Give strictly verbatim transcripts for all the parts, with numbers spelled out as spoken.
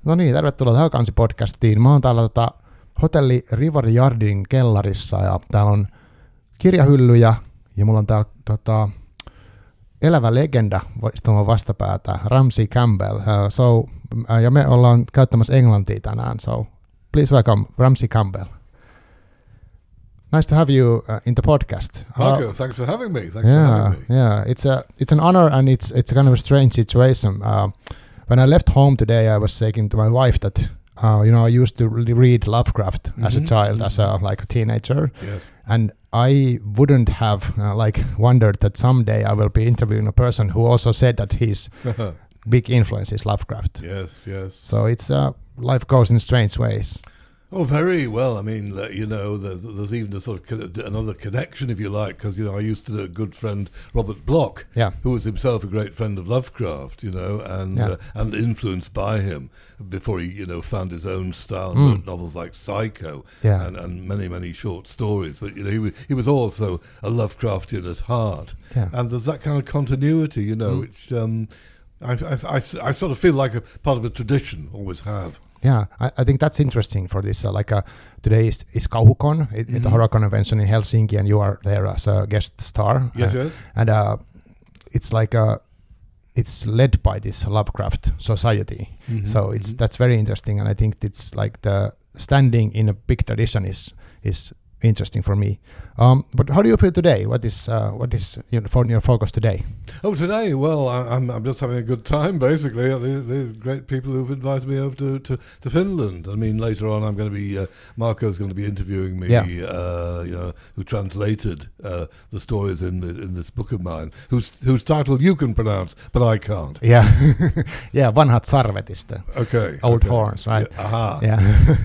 No niin, tervetuloa tähän Kansi-podcastiin. Mä oon täällä tota, hotelli Rivari Yardin kellarissa ja täällä on kirjahyllyjä ja mulla on täällä tota, elävä legenda istumaan vastapäätä, Ramsey Campbell. Uh, so, uh, ja me ollaan käyttämässä englantia tänään, so please welcome Ramsey Campbell. Nice to have you uh, in the podcast. Marco, uh, thanks for having me. Thanks yeah, for having me. Yeah, it's a it's an honor and it's it's a kind of a strange situation. Uh, when I left home today, I was saying to my wife that uh, you know I used to read Lovecraft mm-hmm. as a child, as a like a teenager, yes. and I wouldn't have uh, like wondered that someday I will be interviewing a person who also said that his big influence is Lovecraft. Yes, yes. So it's uh, life goes in strange ways. Oh, very well. I mean, uh, you know, there's, there's even a sort of con- another connection, if you like, because, you know, I used to know a good friend, Robert Bloch, yeah. who was himself a great friend of Lovecraft, you know, and yeah. uh, and influenced by him before he, you know, found his own style and mm. wrote novels like Psycho yeah. and, and many, many short stories. But, you know, he was, he was also a Lovecraftian at heart. Yeah. And there's that kind of continuity, you know, mm. which um, I, I, I, I sort of feel like a part of a tradition, always have. Yeah, I, I think that's interesting for this. Uh, like uh, today is, is Kauhucon, it, mm-hmm. it's a horror convention in Helsinki, and you are there as a guest star. Yes, uh, yes. And uh, it's like uh, it's led by this Lovecraft Society. Mm-hmm. So it's mm-hmm. that's very interesting, and I think it's like the standing in a big tradition is is interesting for me. Um, but how do you feel today? What is uh, what is you know, for your focus today? Oh, today, well, I, I'm I'm just having a good time, basically. There's the great people who've invited me over to, to, to Finland. I mean, later on, I'm going to be, uh, Marco's going to be interviewing me, yeah. uh, you know, who translated uh, the stories in the, in this book of mine, whose whose title you can pronounce, but I can't. Yeah, yeah, Vanhat Sarvet is the okay, old okay. horns, right? Yeah, aha. Yeah,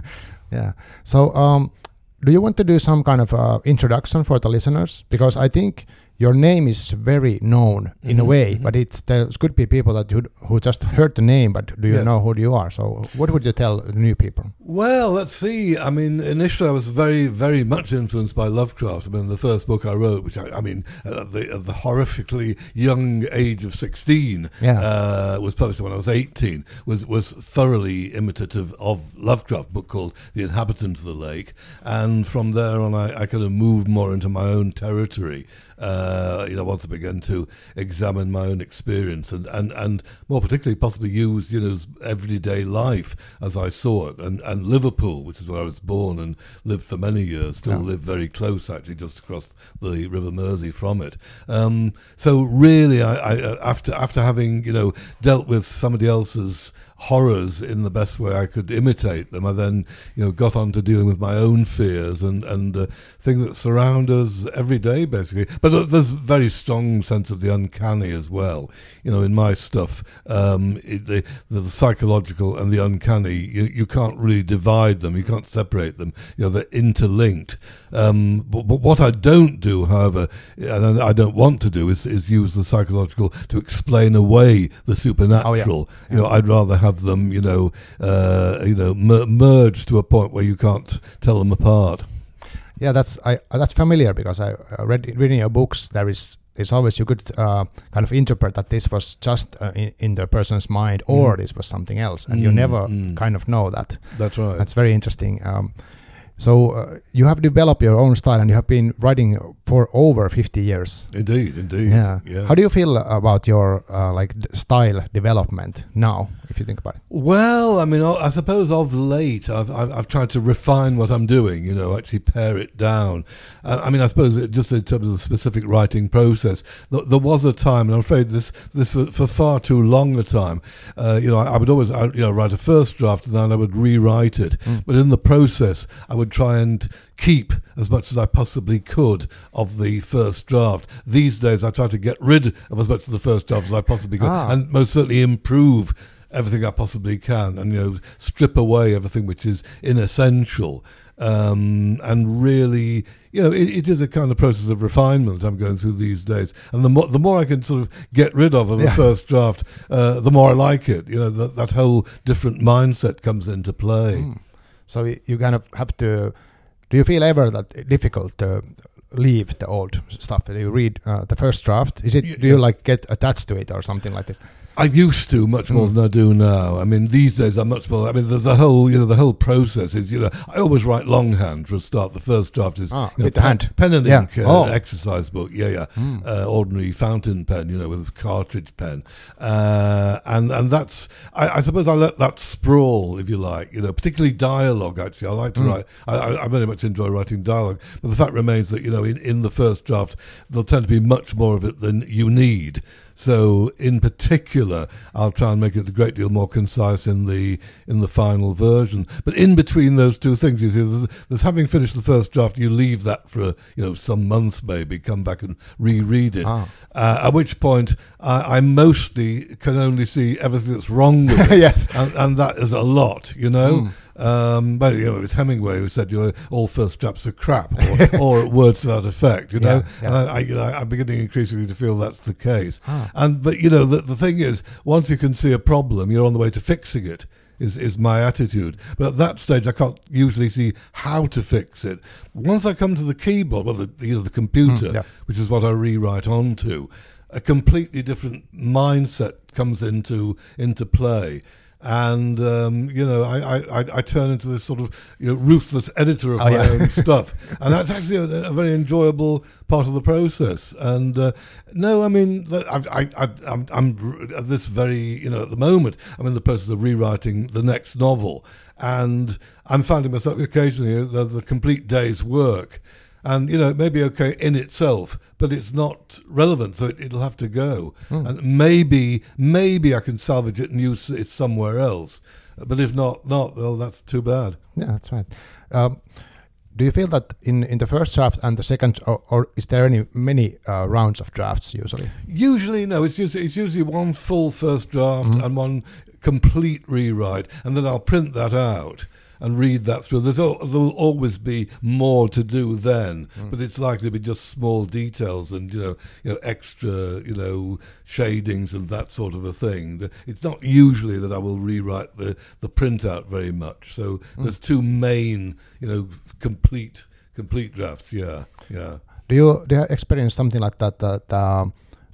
yeah. So, um, do you want to do some kind of uh, introduction for the listeners? Because I think your name is very known in mm-hmm, a way, mm-hmm. but it's there could be people that you, who just heard the name, but do you yes. know who you are? So what would you tell the new people? Well, let's see. I mean, initially I was very, very much influenced by Lovecraft. I mean, the first book I wrote, which I, I mean, at the, at the horrifically young age of sixteen, yeah. uh, was published when I was eighteen, was, was thoroughly imitative of Lovecraft, book called The Inhabitant of the Lake. And from there on, I, I kind of moved more into my own territory. Uh, you know, once I began to examine my own experience and, and, and more particularly possibly use, you know, everyday life as I saw it. And, and Liverpool, which is where I was born and lived for many years, still yeah. live very close, actually, just across the River Mersey from it. Um, so really, I, I after after having, you know, dealt with somebody else's horrors in the best way I could imitate them, I then, you know, got on to dealing with my own fears and and uh, things that surround us every day, basically. But uh, there's a very strong sense of the uncanny as well. You know, in my stuff, um, it, the, the the psychological and the uncanny, you you can't really divide them. You can't separate them. You know, they're interlinked. Um, but, but what I don't do, however, and I don't want to do, is is use the psychological to explain away the supernatural. Oh, yeah. You know, I'd rather have have them, you know, uh, you know, mer- merge to a point where you can't tell them apart. Yeah, that's I that's familiar because I uh, read reading your books. There is it's always you could uh, kind of interpret that this was just uh, in, in the person's mind or mm. this was something else, and mm, you never mm. kind of know that. That's right. That's very interesting. Um, So uh, you have developed your own style, and you have been writing for over fifty years. Indeed, indeed. Yeah. Yes. How do you feel about your uh, like d- style development now, if you think about it? Well, I mean, I suppose of late, I've I've, I've tried to refine what I'm doing. You know, actually pare it down. Uh, I mean, I suppose it, just in terms of the specific writing process, th- there was a time, and I'm afraid this this for, for far too long a time. Uh, you know, I, I would always I, you know write a first draft and then I would rewrite it. Mm. But in the process, I would try and keep as much as I possibly could of the first draft. These days I try to get rid of as much of the first draft as I possibly could, ah. and most certainly improve everything I possibly can, and you know strip away everything which is inessential. Um, and really, you know, it, it is a kind of process of refinement I'm going through these days. And the more the more I can sort of get rid of of yeah. a first draft, uh, the more I like it. You know, that that whole different mindset comes into play. Mm. So you kind of have to. Do you feel ever that difficult to leave the old stuff? Do you read uh, the first draft? Is it? Y- do you like get attached to it or something like this? I used to much more mm. than I do now. I mean, these days I'm much more. I mean, there's a whole, you know, the whole process is, you know, I always write longhand for a start. The first draft is ah, you know, with the pen, hand. pen and yeah. ink uh, oh. exercise book. Yeah, yeah. Mm. Uh, ordinary fountain pen, you know, with a cartridge pen, uh, and and that's. I, I suppose I let that sprawl, if you like, you know, particularly dialogue. Actually, I like to mm. write. I, I, I very much enjoy writing dialogue, but the fact remains that, you know, in, in the first draft there'll tend to be much more of it than you need. So, in particular, I'll try and make it a great deal more concise in the in the final version. But in between those two things, you see, there's, there's having finished the first draft, you leave that for you know some months, maybe come back and reread it. Ah. Uh, at which point, I, I mostly can only see everything that's wrong with it, yes, and, and that is a lot, you know. Mm. Um, but you know, it was Hemingway who said, "You know, all first drafts are crap," or, or words to that effect. You know, yeah, yeah. and I, I, you know, I'm beginning increasingly to feel that's the case. Ah. And but you know, the the thing is, once you can see a problem, you're on the way to fixing it. Is is my attitude. But at that stage, I can't usually see how to fix it. Once I come to the keyboard, well, the you know the computer, mm, yeah. which is what I rewrite onto, a completely different mindset comes into into play. And um, you know, I, I, I turn into this sort of you know ruthless editor of oh, my yeah. own stuff, and that's actually a, a very enjoyable part of the process. And uh, no, I mean, I, I, I, I'm, I'm at this very you know at the moment, I'm in the process of rewriting the next novel, and I'm finding myself occasionally there's a complete day's work. And, you know, it may be okay in itself, but it's not relevant, so it, it'll have to go. Mm. And maybe, maybe I can salvage it and use it somewhere else. But if not, not, well, that's too bad. Yeah, that's right. Um, do you feel that in, in the first draft and the second, or, or is there any many uh, rounds of drafts usually? Usually, no. It's usually, it's usually one full first draft mm. and one complete rewrite, and then I'll print that out and read that through. There's al- there'll always be more to do then, mm. but it's likely to be just small details and you know, you know, extra, you know, shadings and that sort of a thing. It's not usually that I will rewrite the the printout very much. So mm. there's two main, you know, complete complete drafts. Yeah, yeah. Do you do you experience something like that? That um,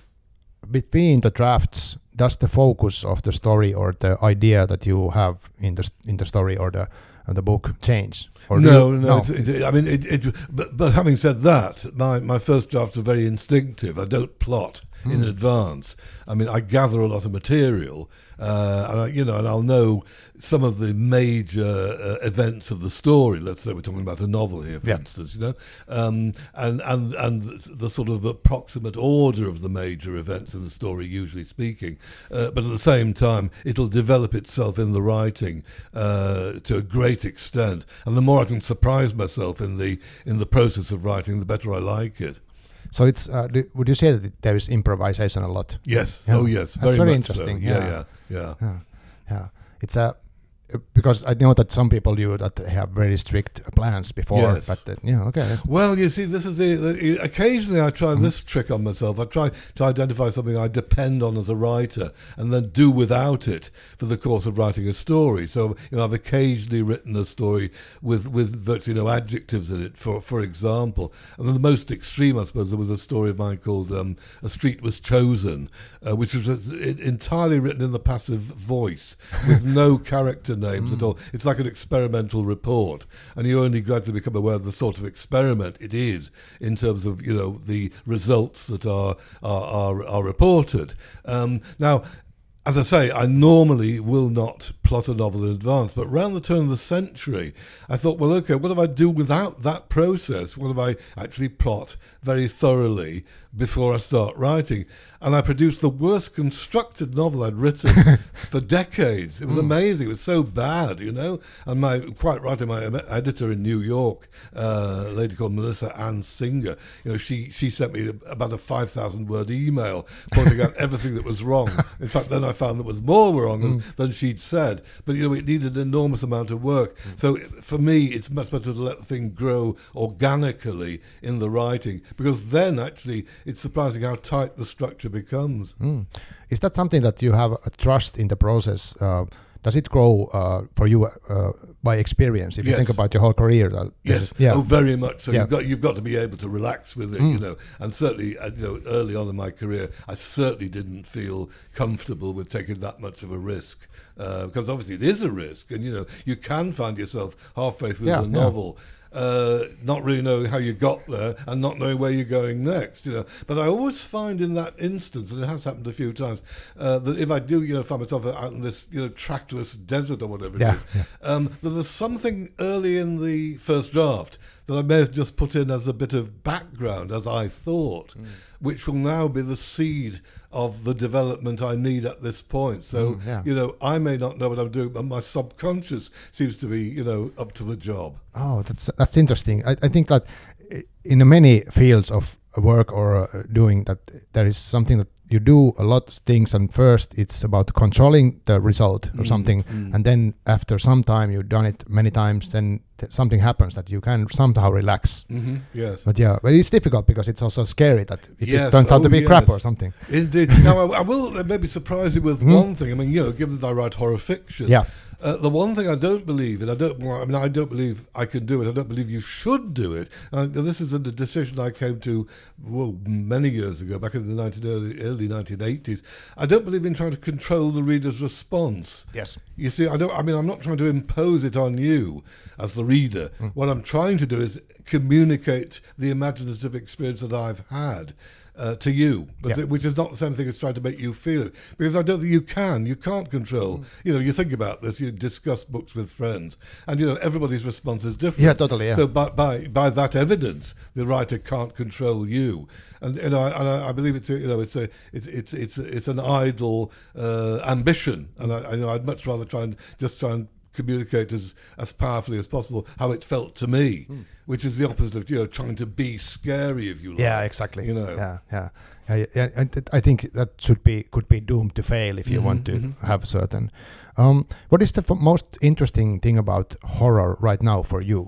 between the drafts, does the focus of the story or the idea that you have in the in the story or the and the book change? Or no, you, no. no. It's, it, I mean, it, it, but, but having said that, my, my first drafts are very instinctive. I don't plot mm. in advance. I mean, I gather a lot of material, uh, and I, you know, and I'll know some of the major uh, events of the story. Let's say we're talking about a novel here, for yeah. instance, you know, um, and and and the sort of approximate order of the major events in the story, usually speaking. Uh, but at the same time, it'll develop itself in the writing uh, to a great extent, and the more I can surprise myself in the in the process of writing, the better I like it. So it's uh, do, would you say that there is improvisation a lot? Yes. Yeah. Oh, yes. That's very, very much interesting. So. Yeah. Yeah, yeah, yeah, yeah, yeah. It's a because I know that some people do that have very strict plans before. Yes. But uh, yeah, okay. Well, you see, this is the, the occasionally I try mm-hmm. this trick on myself. I try to identify something I depend on as a writer, and then do without it for the course of writing a story. So, you know, I've occasionally written a story with with virtually no adjectives in it. For for example, and then the most extreme, I suppose, there was a story of mine called um, "A Street Was Chosen," uh, which was uh, entirely written in the passive voice with no character names mm. at all. It's like an experimental report, and you only gradually become aware of the sort of experiment it is in terms of, you know, the results that are are are, are reported. Um, now, as I say, I normally will not plot a novel in advance, but around the turn of the century, I thought, well, okay, what if I do without that process? What if I actually plot very thoroughly before I start writing? And I produced the worst constructed novel I'd written for decades. It was mm. amazing. It was so bad, you know. And my, quite rightly, my editor in New York, uh, a lady called Melissa Ann Singer, you know, she, she sent me about a five thousand word email pointing out everything that was wrong. In fact, then I found there was more wrong mm. than she'd said. But, you know, it needed an enormous amount of work. Mm. So for me, it's much better to let the thing grow organically in the writing, because then actually it's surprising how tight the structure becomes. Mm. Is that something that you have a trust in the process? Uh, does it grow uh, for you uh, by experience? If yes. you think about your whole career, that, yes, yeah. oh, very much. So yeah. you've got you've got to be able to relax with it, mm. you know. And certainly, uh, you know, early on in my career, I certainly didn't feel comfortable with taking that much of a risk, uh, because obviously it is a risk, and you know, you can find yourself halfway through yeah, the novel. Yeah. Uh, not really knowing how you got there and not knowing where you're going next, you know. But I always find in that instance, and it has happened a few times, uh, that if I do, you know, find myself out in this, you know, trackless desert or whatever yeah, it is, yeah. um, that there's something early in the first draft that I may have just put in as a bit of background, as I thought, mm. which will now be the seed of the development I need at this point. So, mm, yeah. you know, I may not know what I'm doing, but my subconscious seems to be, you know, up to the job. Oh, that's that's interesting. I, I think that in many fields of work or uh, doing that, there is something that you do a lot of things, and first it's about controlling the result or mm, something, mm. and then after some time you've done it many times, then th- something happens that you can somehow relax. Mm-hmm, yes. But yeah, but it's difficult because it's also scary that if yes. it turns out oh, to be yes. crap or something. Indeed. Now I, I will maybe surprise you with mm. one thing. I mean, you know, given that I write horror fiction, yeah. Uh, the one thing I don't believe, and I don't, I mean, I don't believe I can do it. I don't believe you should do it. And this is a decision I came to well, many years ago, back in the nineteen early, early nineteen eighties. I don't believe in trying to control the reader's response. Yes. You see, I don't. I mean, I'm not trying to impose it on you as the reader. Mm. What I'm trying to do is communicate the imaginative experience that I've had. Uh, to you, but yeah. th- which is not the same thing as trying to make you feel it, because I don't think you can. You can't control. Mm. You know, you think about this. You discuss books with friends, and you know everybody's response is different. Yeah, totally. Yeah. So by by by that evidence, the writer can't control you, and you know, I, and I, I believe it's a, you know it's a it's it's it's it's an idle uh, ambition, and I, I you know I'd much rather try and just try and communicate as, as powerfully as possible how it felt to me, mm. which is the opposite of, you know, trying to be scary, if you like. Yeah, exactly. You know. Yeah, yeah, yeah. yeah. And I think that should be could be doomed to fail if you mm-hmm, want to mm-hmm. have certain. Um, what is the f- most interesting thing about horror right now for you?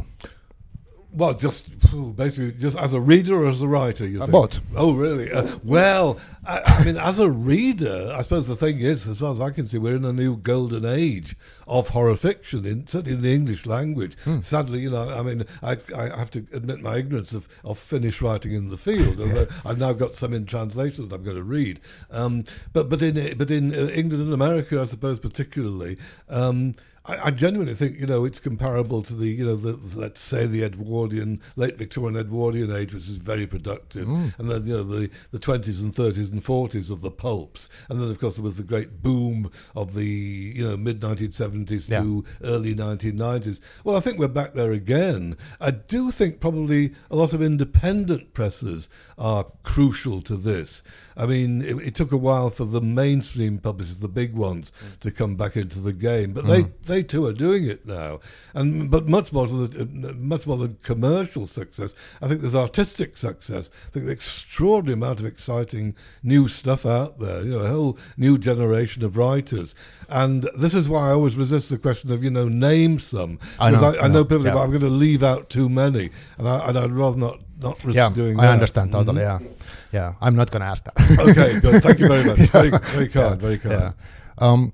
Well, just basically, just as a reader or as a writer, you uh, think? Both. Oh, really? Uh, well, I, I mean, as a reader, I suppose the thing is, as far as I can see, we're in a new golden age of horror fiction, in, certainly in the English language. Hmm. Sadly, you know, I mean, I, I have to admit my ignorance of, of Finnish writing in the field, although I've now got some in translation that I'm going to read. Um, but but in but in England and America, I suppose particularly. Um, I, I genuinely think, you know, it's comparable to the, you know, the, let's say the Edwardian, late Victorian Edwardian age, which is very productive, mm. and then, you know, the, the twenties and thirties and forties of the pulps, and then, of course, there was the great boom of the, you know, mid nineteen seventies yeah. to early nineteen nineties. Well, I think we're back there again. I do think probably a lot of independent presses are crucial to this. I mean, it, it took a while for the mainstream publishers, the big ones, mm. to come back into the game, but mm. they, they too are doing it now. And but much more to the, uh, much more than commercial success, I think there's artistic success. I think the extraordinary amount of exciting new stuff out there. You know, a whole new generation of writers. And this is why I always resist the question of, you know, name some. I know, I, I, I know people, yeah. but I'm going to leave out too many, and, I, and I'd rather not. Not risk yeah, doing I that. understand totally. Mm-hmm. Yeah, yeah. I'm not going to ask that. Okay, good. Thank you very much. yeah. Very, very kind. Yeah. Very kind. Yeah. Um,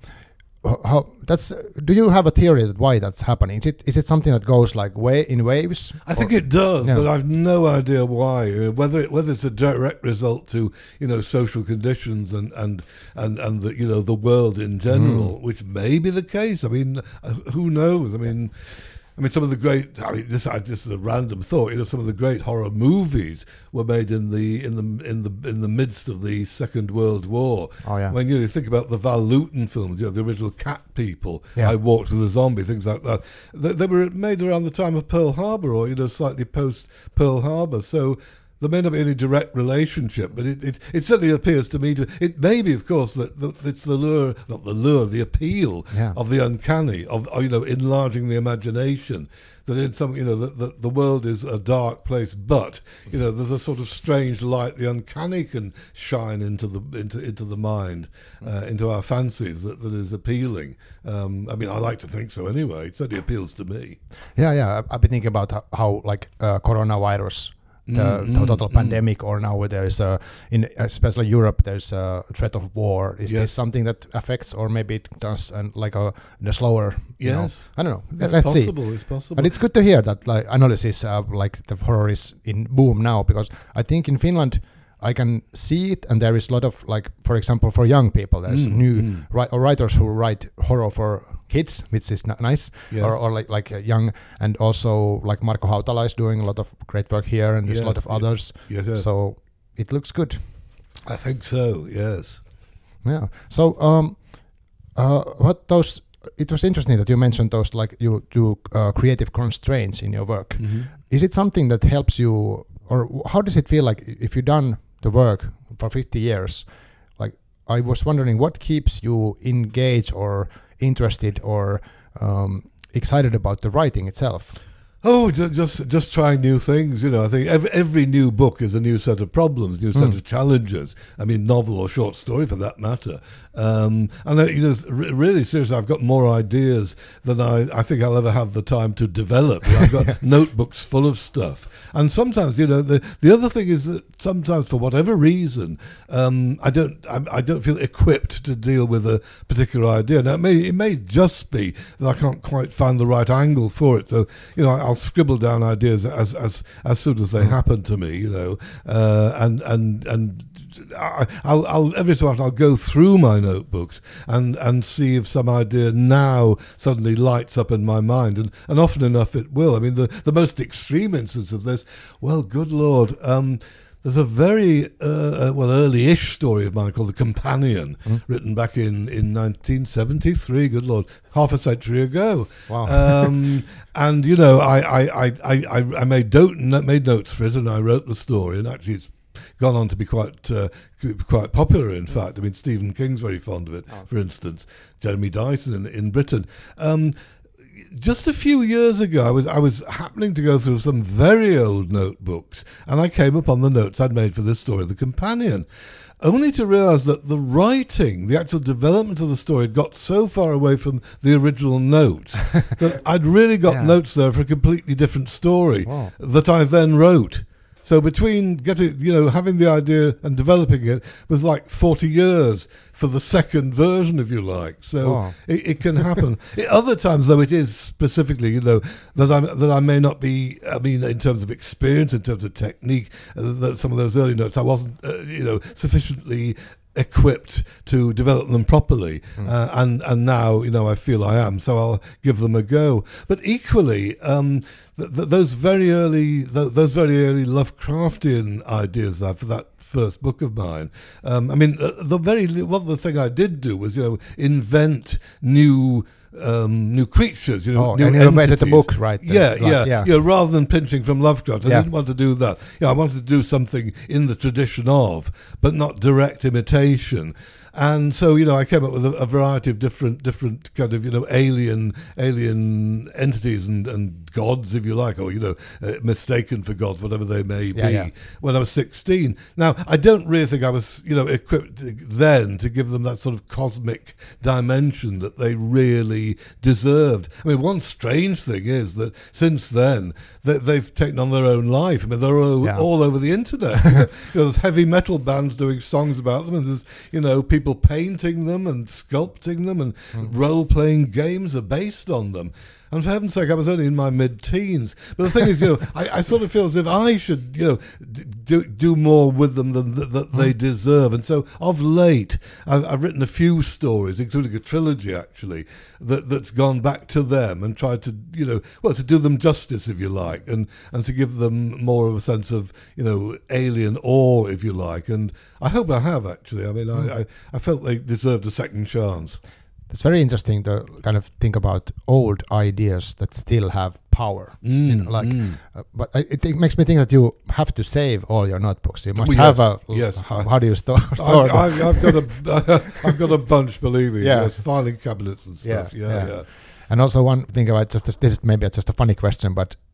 how that's? Do you have a theory that why that's happening? Is it is it something that goes like way in waves? I think it does, yeah. but I've no idea why. Whether it, whether it's a direct result to, you know, social conditions and and and and the, you know, the world in general, mm. which may be the case. I mean, who knows? I mean. I mean, some of the great. I mean, this, I, this is a random thought. You know, some of the great horror movies were made in the in the in the in the midst of the Second World War. Oh yeah. When you, know, you think about the Val Lewton films, you know, the original Cat People, yeah. I Walked with a Zombie, things like that. They, they were made around the time of Pearl Harbor, or, you know, slightly post Pearl Harbor. So. There may not be any direct relationship, but it, it, it certainly appears to me to. It may be, of course, that, that it's the lure, not the lure, the appeal yeah. of the uncanny, of, you know, enlarging the imagination. That in some, you know, that the, the world is a dark place, but you know, there's a sort of strange light. The uncanny can shine into the into into the mind, uh, into our fancies. That, that is appealing. Um, I mean, I like to think so anyway. It certainly appeals to me. Yeah, yeah. I've been thinking about how, how like uh, coronavirus. the, Mm, the mm, total mm. pandemic, or now there's a, in especially Europe, there's a threat of war. Is Yes. this something that affects, or maybe it does, and like a the slower? You know, Yes. I don't know. It's Let's see. possible. It's possible. But it's good to hear that like analysis, uh, like the horror is in boom now, because I think in Finland I can see it, and there is a lot of like, for example, for young people, there's Mm, new mm. ri- or writers who write horror for kids, which is n- nice, Yes. or, or like like uh, young, and also like Marko Hautala is doing a lot of great work here, and there's a lot Yes, of others. Yes, yes. So it looks good. I think so. Yes. Yeah. So um, uh, what those? It was interesting that you mentioned those, like you do uh, creative constraints in your work. Mm-hmm. Is it something that helps you, or w- how does it feel like if you've done the work for fifty years? Like, I was wondering what keeps you engaged or interested or um, excited about the writing itself? Oh, ju- just just trying new things. You know, I think every, every new book is a new set of problems, new set Mm. of challenges. I mean, novel or short story for that matter. Um, and uh, you know, r- really seriously, I've got more ideas than I, I think I'll ever have the time to develop. You know, I've got notebooks full of stuff. And sometimes, you know, the the other thing is that sometimes, for whatever reason, um, I don't I, I don't feel equipped to deal with a particular idea. Now, it may it may just be that I can't quite find the right angle for it. So, you know, I'll scribble down ideas as as as soon as they Mm. happen to me. You know, uh, and and and. I, I'll, I'll every so often I'll go through my notebooks and, and see if some idea now suddenly lights up in my mind, and, and often enough it will. I mean, the, the most extreme instance of this, well, good Lord, um, there's a very uh, uh, well early-ish story of mine called The Companion, Mm. written back in, in nineteen seventy-three. Good Lord, half a century ago. Wow. Um, and you know, I I, I, I, I I made note made notes for it, and I wrote the story, and actually it's gone on to be quite uh, quite popular. In fact, I mean, Stephen King's very fond of it. Oh. For instance, Jeremy Dyson in, in Britain. Um, just a few years ago, I was I was happening to go through some very old notebooks, and I came upon the notes I'd made for this story, The Companion, only to realise that the writing, the actual development of the story, had got so far away from the original notes that I'd really got Yeah. notes there for a completely different story Wow. that I then wrote. So between getting, you know, having the idea and developing it was like forty years for the second version, if you like. So Wow. it, it can happen. At other times, though, it is specifically, you know, that I that I may not be. I mean, in terms of experience, in terms of technique, uh, that some of those early notes, I wasn't, uh, you know, sufficiently equipped to develop them properly, Mm. uh, and and now, you know, I feel I am, so I'll give them a go. But equally, um, th- th- those very early th- those very early Lovecraftian ideas I have for that first book of mine. Um, I mean, uh, the very li- well, the thing I did do was, you know, invent new. Um, new creatures, you know, Oh, new and you invented the entities. book, right? then, Yeah, like, yeah, yeah. yeah. Rather than pinching from Lovecraft, I Yeah. didn't want to do that. Yeah, I wanted to do something in the tradition of, but not direct imitation. And so, you know, I came up with a, a variety of different, different kind of, you know, alien, alien entities and, and gods, if you like, or, you know, uh, mistaken for gods, whatever they may Yeah, be. yeah. When I was sixteen. Now, I don't really think I was, you know, equipped then to give them that sort of cosmic dimension that they really deserved. I mean, one strange thing is that since then, they, they've taken on their own life. I mean, they're all, Yeah. all over the internet. You know, you know, there's heavy metal bands doing songs about them, and there's, you know, people painting them and sculpting them, and Mm. role-playing games are based on them. And for heaven's sake, I was only in my mid-teens. But the thing is, you know, I, I sort of feel as if I should, you know, d- do do more with them than th- that they deserve. And so, of late, I've, I've written a few stories, including a trilogy, actually, that that's gone back to them and tried to, you know, well, to do them justice, if you like, and and to give them more of a sense of, you know, alien awe, if you like. And I hope I have, actually. I mean, I, I, I felt they deserved a second chance. It's very interesting to kind of think about old ideas that still have power. Mm, you know, like, mm. uh, but I, it, it makes me think that you have to save all your notebooks. You must Well, have yes, a. yes, How, I- how do you store? store I've, them? I've, I've got a, I've got a bunch. Believe me, Yeah. yes, filing cabinets and stuff. Yeah, Yeah, yeah. yeah. And also one thing about just this, this is maybe just a funny question, but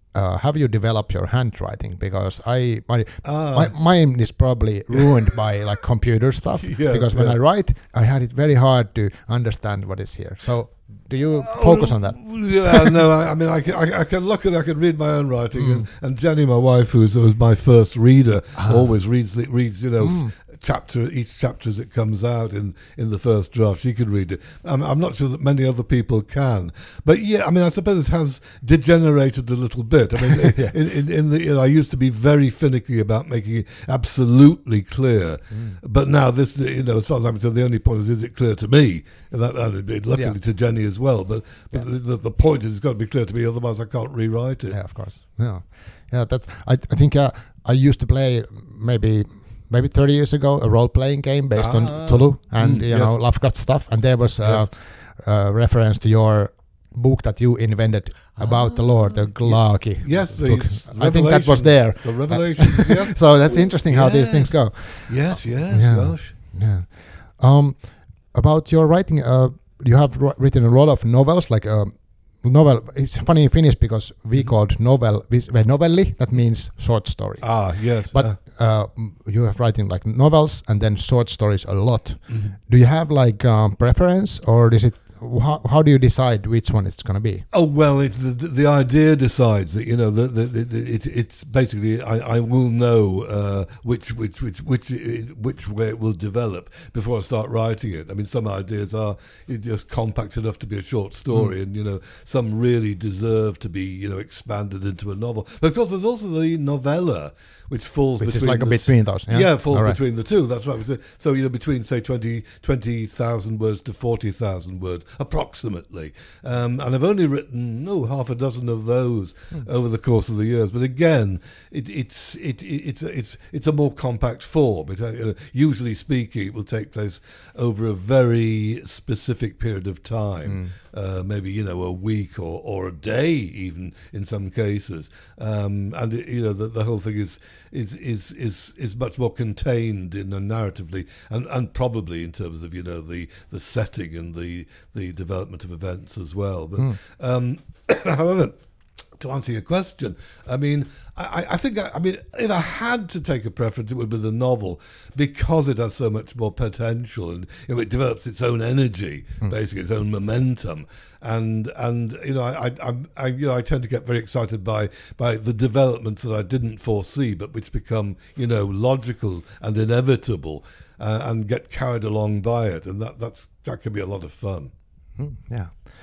uh, have you developed your handwriting? Because I my, Ah. my mine is probably ruined by like computer stuff. Yes, because when yeah. I write, I had it very hard to understand what is here. So do you focus on that? Yeah, no, I, I mean, I can, I, I can look at, I can read my own writing, Mm. and, and Jenny, my wife, who was, was my first reader, Ah. always reads, the, reads, you know, Mm. chapter each chapter as it comes out in, in the first draft. She can read it. I'm, I'm not sure that many other people can, but yeah, I mean, I suppose it has degenerated a little bit. I mean, Yeah. in, in, in the, you know, I used to be very finicky about making it absolutely clear, Mm. but now this, you know, as far as I'm concerned, the only point is, is it clear to me? And that, and it'd be luckily Yeah. to Jenny as well, but, but Yeah. the, the, the point is it's got to be clear to me, otherwise I can't rewrite it. Yeah, of course. Yeah, yeah. That's. I. I think uh, I used to play maybe maybe thirty years ago a role playing game based Ah. on Tulu and Mm, you yes. know Lovecraft stuff, and there was a Yes. uh, reference to your book that you invented about the Lord, the Glaki. Yes, the book. I think that was Revelations. there. The Revelations, yes. So that's interesting how these Yes. things go. Yes, yes, Yeah. gosh. Yeah. Um, about your writing, uh, you have wr- written a lot of novels, like a novel. It's funny in Finnish because we called novel vis- well, novelli. That means short story. Ah, yes. But uh, uh, m- you have writing like novels and then short stories a lot. mhm. Do you have like um, preference, or is it how, how do you decide which one it's going to be? Oh well, it's the, the idea decides that you know the, the, the, the it, it's basically I, I will know uh, which which which which which way it will develop before I start writing it. I mean, some ideas are just compact enough to be a short story, Mm. and you know some really deserve to be you know expanded into a novel. But of course, there's also the novella, which falls Which is between like a the between those. Yeah, Yeah, it falls All right. between the two. That's right. So you know, between say twenty twenty thousand words to forty thousand words, approximately. Um, and I've only written no half a dozen of those Hmm. over the course of the years. But again, it, it's it, it, it's it's it's a more compact form. It, uh, you know, usually speaking, it will take place over a very specific period of time. Mm. Uh, maybe you know a week or, or a day, even in some cases, um, and it, you know the, the whole thing is is is is is much more contained in a narratively, and, and probably in terms of you know the, the setting and the the development of events as well. But Mm. um, however, to answer your question, I mean, I, I think, I, I mean, if I had to take a preference, it would be the novel because it has so much more potential and you know, it develops its own energy, Mm. basically its own momentum. And and you know, I, I I you know I tend to get very excited by by the developments that I didn't foresee, but which become you know logical and inevitable, uh, and get carried along by it, and that that's that can be a lot of fun. Mm, yeah.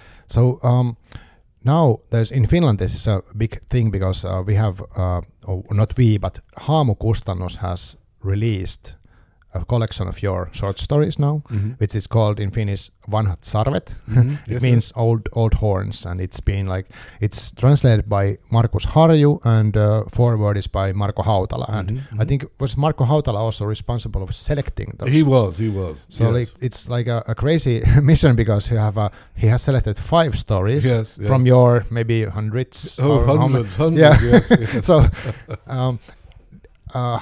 So um, now there's in Finland this is a big thing because uh, we have uh, or not we but Haamu Kustannus has released a collection of your short stories now, Mm-hmm. which is called in Finnish Vanhat Sarvet. Mhm. It Yes, means old old horns, and it's been like it's translated by Markus Harju and uh, forward is by Marko Hautala. And Mhm, I think was Marko Hautala also responsible of selecting those. He was, he was. So yes. like it's like a, a crazy mission because you have a he has selected five stories Yes, yeah. from your maybe hundreds. Oh, or how many- hundreds, hundreds, Yeah. yes, yes. So, um, uh,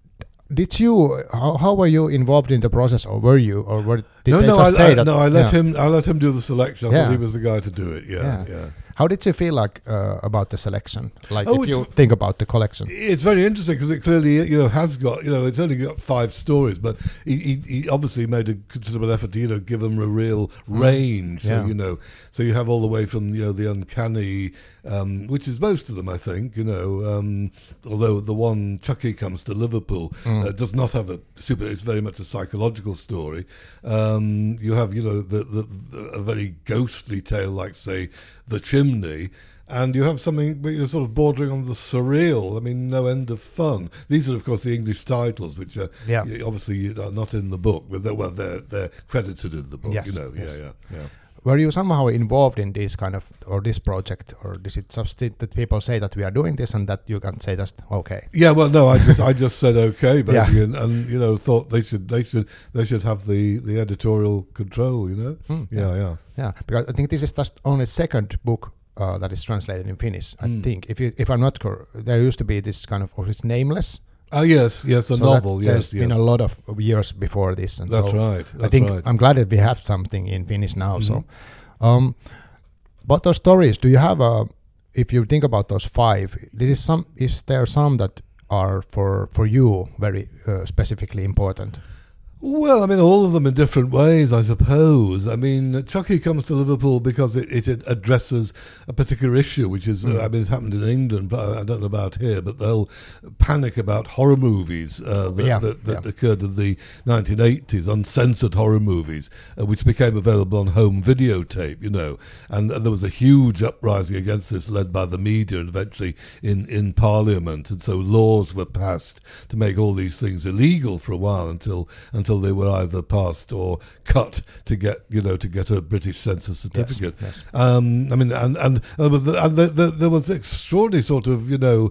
did you how, how were you involved in the process, or were you, or were did no, they no, just I, say I, that? no, I let yeah. him. I let him do the selection. I Yeah. thought he was the guy to do it. Yeah, Yeah. yeah. How did you feel like uh, about the selection? Like Oh, if you it's- think about the collection. It's very interesting because it clearly, you know, has got, you know, it's only got five stories, but he, he, he obviously made a considerable effort to, you know, give them a real range. So, Yeah. you know, so you have all the way from, you know, the uncanny, um, which is most of them, I think, you know, um, although the one Chucky Comes to Liverpool Mm. uh, does not have a super, it's very much a psychological story. Um, you have, you know, the, the, the a very ghostly tale like, say, The Chimney. And you have something where you're sort of bordering on the surreal. I mean, no end of fun. These are, of course, the English titles, which are Yeah. y- obviously are not in the book, but they're, well, they're they're credited in the book. Yes, You know, yes. yeah, yeah, yeah. Were you somehow involved in this kind of or this project, or is it just it that people say that we are doing this and that you can say just okay? Yeah, well, no, I just I just said okay, Yeah. basically, and, and you know thought they should they should they should have the, the editorial control. You know, Hmm, yeah, yeah. Yeah, because I think this is just only second book uh, that is translated in Finnish. I Mm. think if you, if I'm not correct, there used to be this kind of or it's nameless. Oh yes, yes, the So novel. that Yes, there's yes. been a lot of years before this, and That's so right. That's I think right. I'm glad that we have something in Finnish now. So, Mhm. um, but those stories, do you have a? if you think about those five, this is some. Is there some that are for for you very uh, specifically important? Well, I mean, all of them in different ways, I suppose. I mean, Chucky comes to Liverpool because it, it addresses a particular issue, which is, mm. uh, I mean, it's happened in England, but I don't know about here, but the whole panic about horror movies uh, that, yeah, that, that yeah. occurred in the nineteen eighties, uncensored horror movies, uh, which became available on home videotape, you know. And, and there was a huge uprising against this, led by the media and eventually in, in Parliament. And so laws were passed to make all these things illegal for a while until until they were either passed or cut to get, you know, to get a British census certificate. Yes, yes. Um, I mean, and and, and, the, and the, the, there was extraordinary sort of, you know,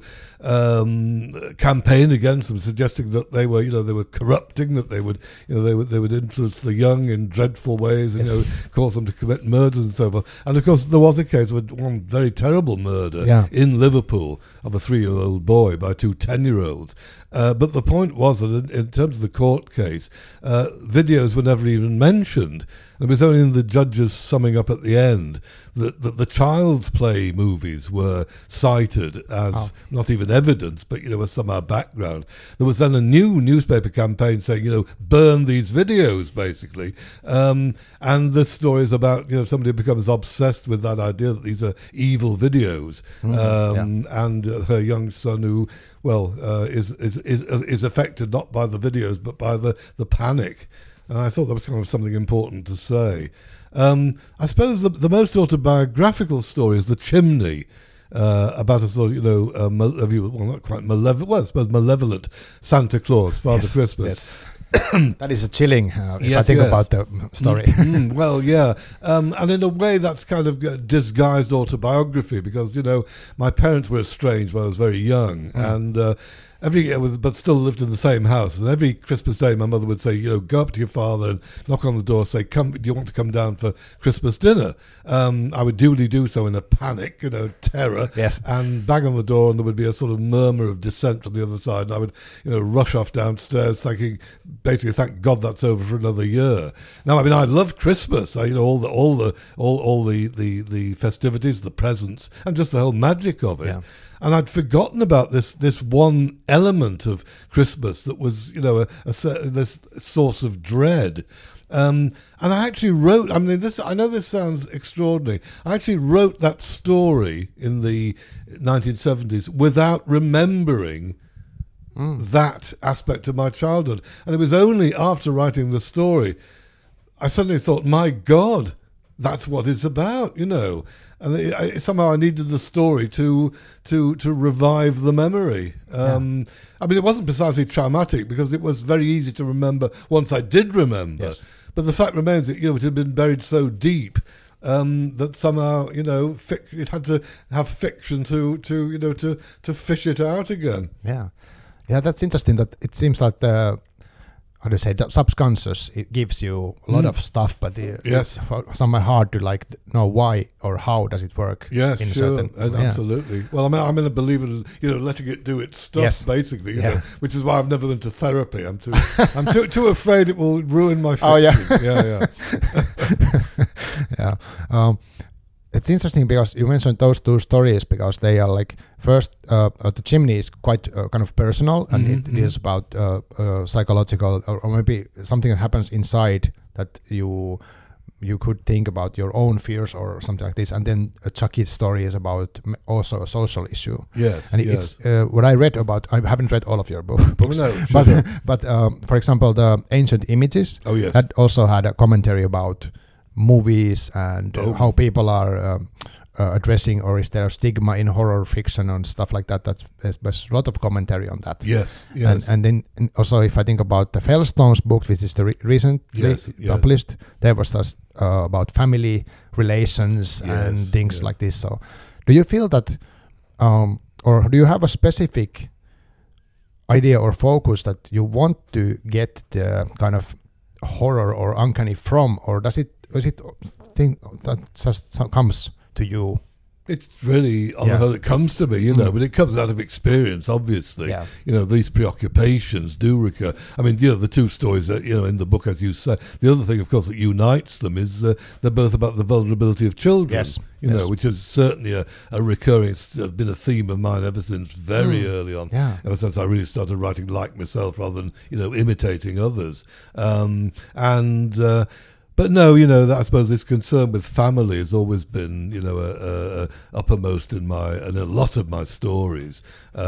um, campaign against them, suggesting that they were, you know, they were corrupting, that they would, you know, they would they would influence the young in dreadful ways, and yes. you know, cause them to commit murders and so forth. And of course, there was a case of one very terrible murder yeah. in Liverpool of a three-year-old boy by two ten-year-olds. Uh, but the point was that in, in terms of the court case, uh, videos were never even mentioned. It was only in the judge's summing up at the end that, that the Child's Play movies were cited as oh. not even evidence, but, you know, as somehow background. There was then a new newspaper campaign saying, you know, burn these videos, basically. Um, and this story is about, you know, somebody who becomes obsessed with that idea that these are evil videos. Mm, um, yeah. And uh, her young son who, well, uh, is, is, is, is affected not by the videos, but by the, the panic. And I thought that was kind of something important to say. Um, I suppose the, the most autobiographical story is The Chimney, uh, about a sort of, you know, uh, mal- well, not quite malevolent, well, I suppose malevolent Santa Claus, Father yes, Christmas. Yes. That is a chilling, uh, if yes, I think yes. about the story. Mm-hmm. Well, yeah. Um, and in a way, that's kind of uh, disguised autobiography because, you know, my parents were estranged when I was very young. Mm. And uh, every year, but still lived in the same house. And every Christmas Day, my mother would say, you know, go up to your father and knock on the door, say, "Come, do you want to come down for Christmas dinner?" Um, I would duly do so in a panic, you know, terror, yes. and bang on the door, and there would be a sort of murmur of dissent from the other side. And I would, you know, rush off downstairs, thinking, basically, thank God that's over for another year. Now, I mean, I love Christmas. I, you know, all the, all the, all, all the, the, the festivities, the presents, and just the whole magic of it. Yeah. And I'd forgotten about this this one element of Christmas that was, you know, a, a, this source of dread. Um, and I actually wrote, I mean, this, I know this sounds extraordinary. I actually wrote that story in the nineteen seventies without remembering mm. that aspect of my childhood. And it was only after writing the story, I suddenly thought, my God, that's what it's about, you know. And it, I, somehow I needed the story to to to revive the memory. Um, yeah. I mean, it wasn't precisely traumatic because it was very easy to remember once I did remember. Yes. But the fact remains that, you know, it had been buried so deep um, that somehow, you know, fic- it had to have fiction to to you know to to fish it out again. Yeah, yeah, that's interesting. That it seems like the, how do you say, the subconscious, it gives you a lot mm. of stuff, but it, yes. it's somehow hard to like know why or how does it work. Yes, in sure, certain, uh, yeah. absolutely. Well, I'm, I'm in a believer in, you know, letting it do its stuff, yes. basically, you yeah. know, which is why I've never been to therapy. I'm too, I'm too, too afraid it will ruin my fiction. Oh yeah, yeah, yeah. yeah. Um, It's interesting because you mentioned those two stories because they are like, first, uh, uh, The Chimney is quite uh, kind of personal and mm-hmm. it is about uh, uh, psychological or, or maybe something that happens inside that you you could think about your own fears or something like this. And then uh, Chucky's story is about m- also a social issue. Yes, and yes. it's uh, what I read about. I haven't read all of your book, books, oh, no, but sure. but um, for example, the Ancient Images. Oh yes, that also had a commentary about movies and oh. uh, how people are um, uh, addressing, or is there a stigma in horror fiction and stuff like that. That's, there's, there's a lot of commentary on that. Yes, yes. And, and then and also if I think about the Fellstones book, which is the re- recently yes, yes. published, there was this, uh, about family relations yes, and things yes. like this. So do you feel that, um, or do you have a specific idea or focus that you want to get the kind of horror or uncanny from, or does it is it thing that just comes to you It's really on Yeah. the whole it comes to me, you know, Mm. but it comes out of experience, obviously. Yeah. You know, these preoccupations do recur. I mean, you know, the two stories that, you know, in the book, as you say, the other thing, of course, that unites them is uh, they're both about the vulnerability of children. Yes. You Yes. know, which is certainly a, a recurring, it's uh, been a theme of mine ever since very Mm. early on. Yeah. Ever since I really started writing like myself rather than, you know, imitating others. Um, and, uh, But no, you know, that I suppose this concern with family has always been, you know, a, a, a uppermost in my in a lot of my stories.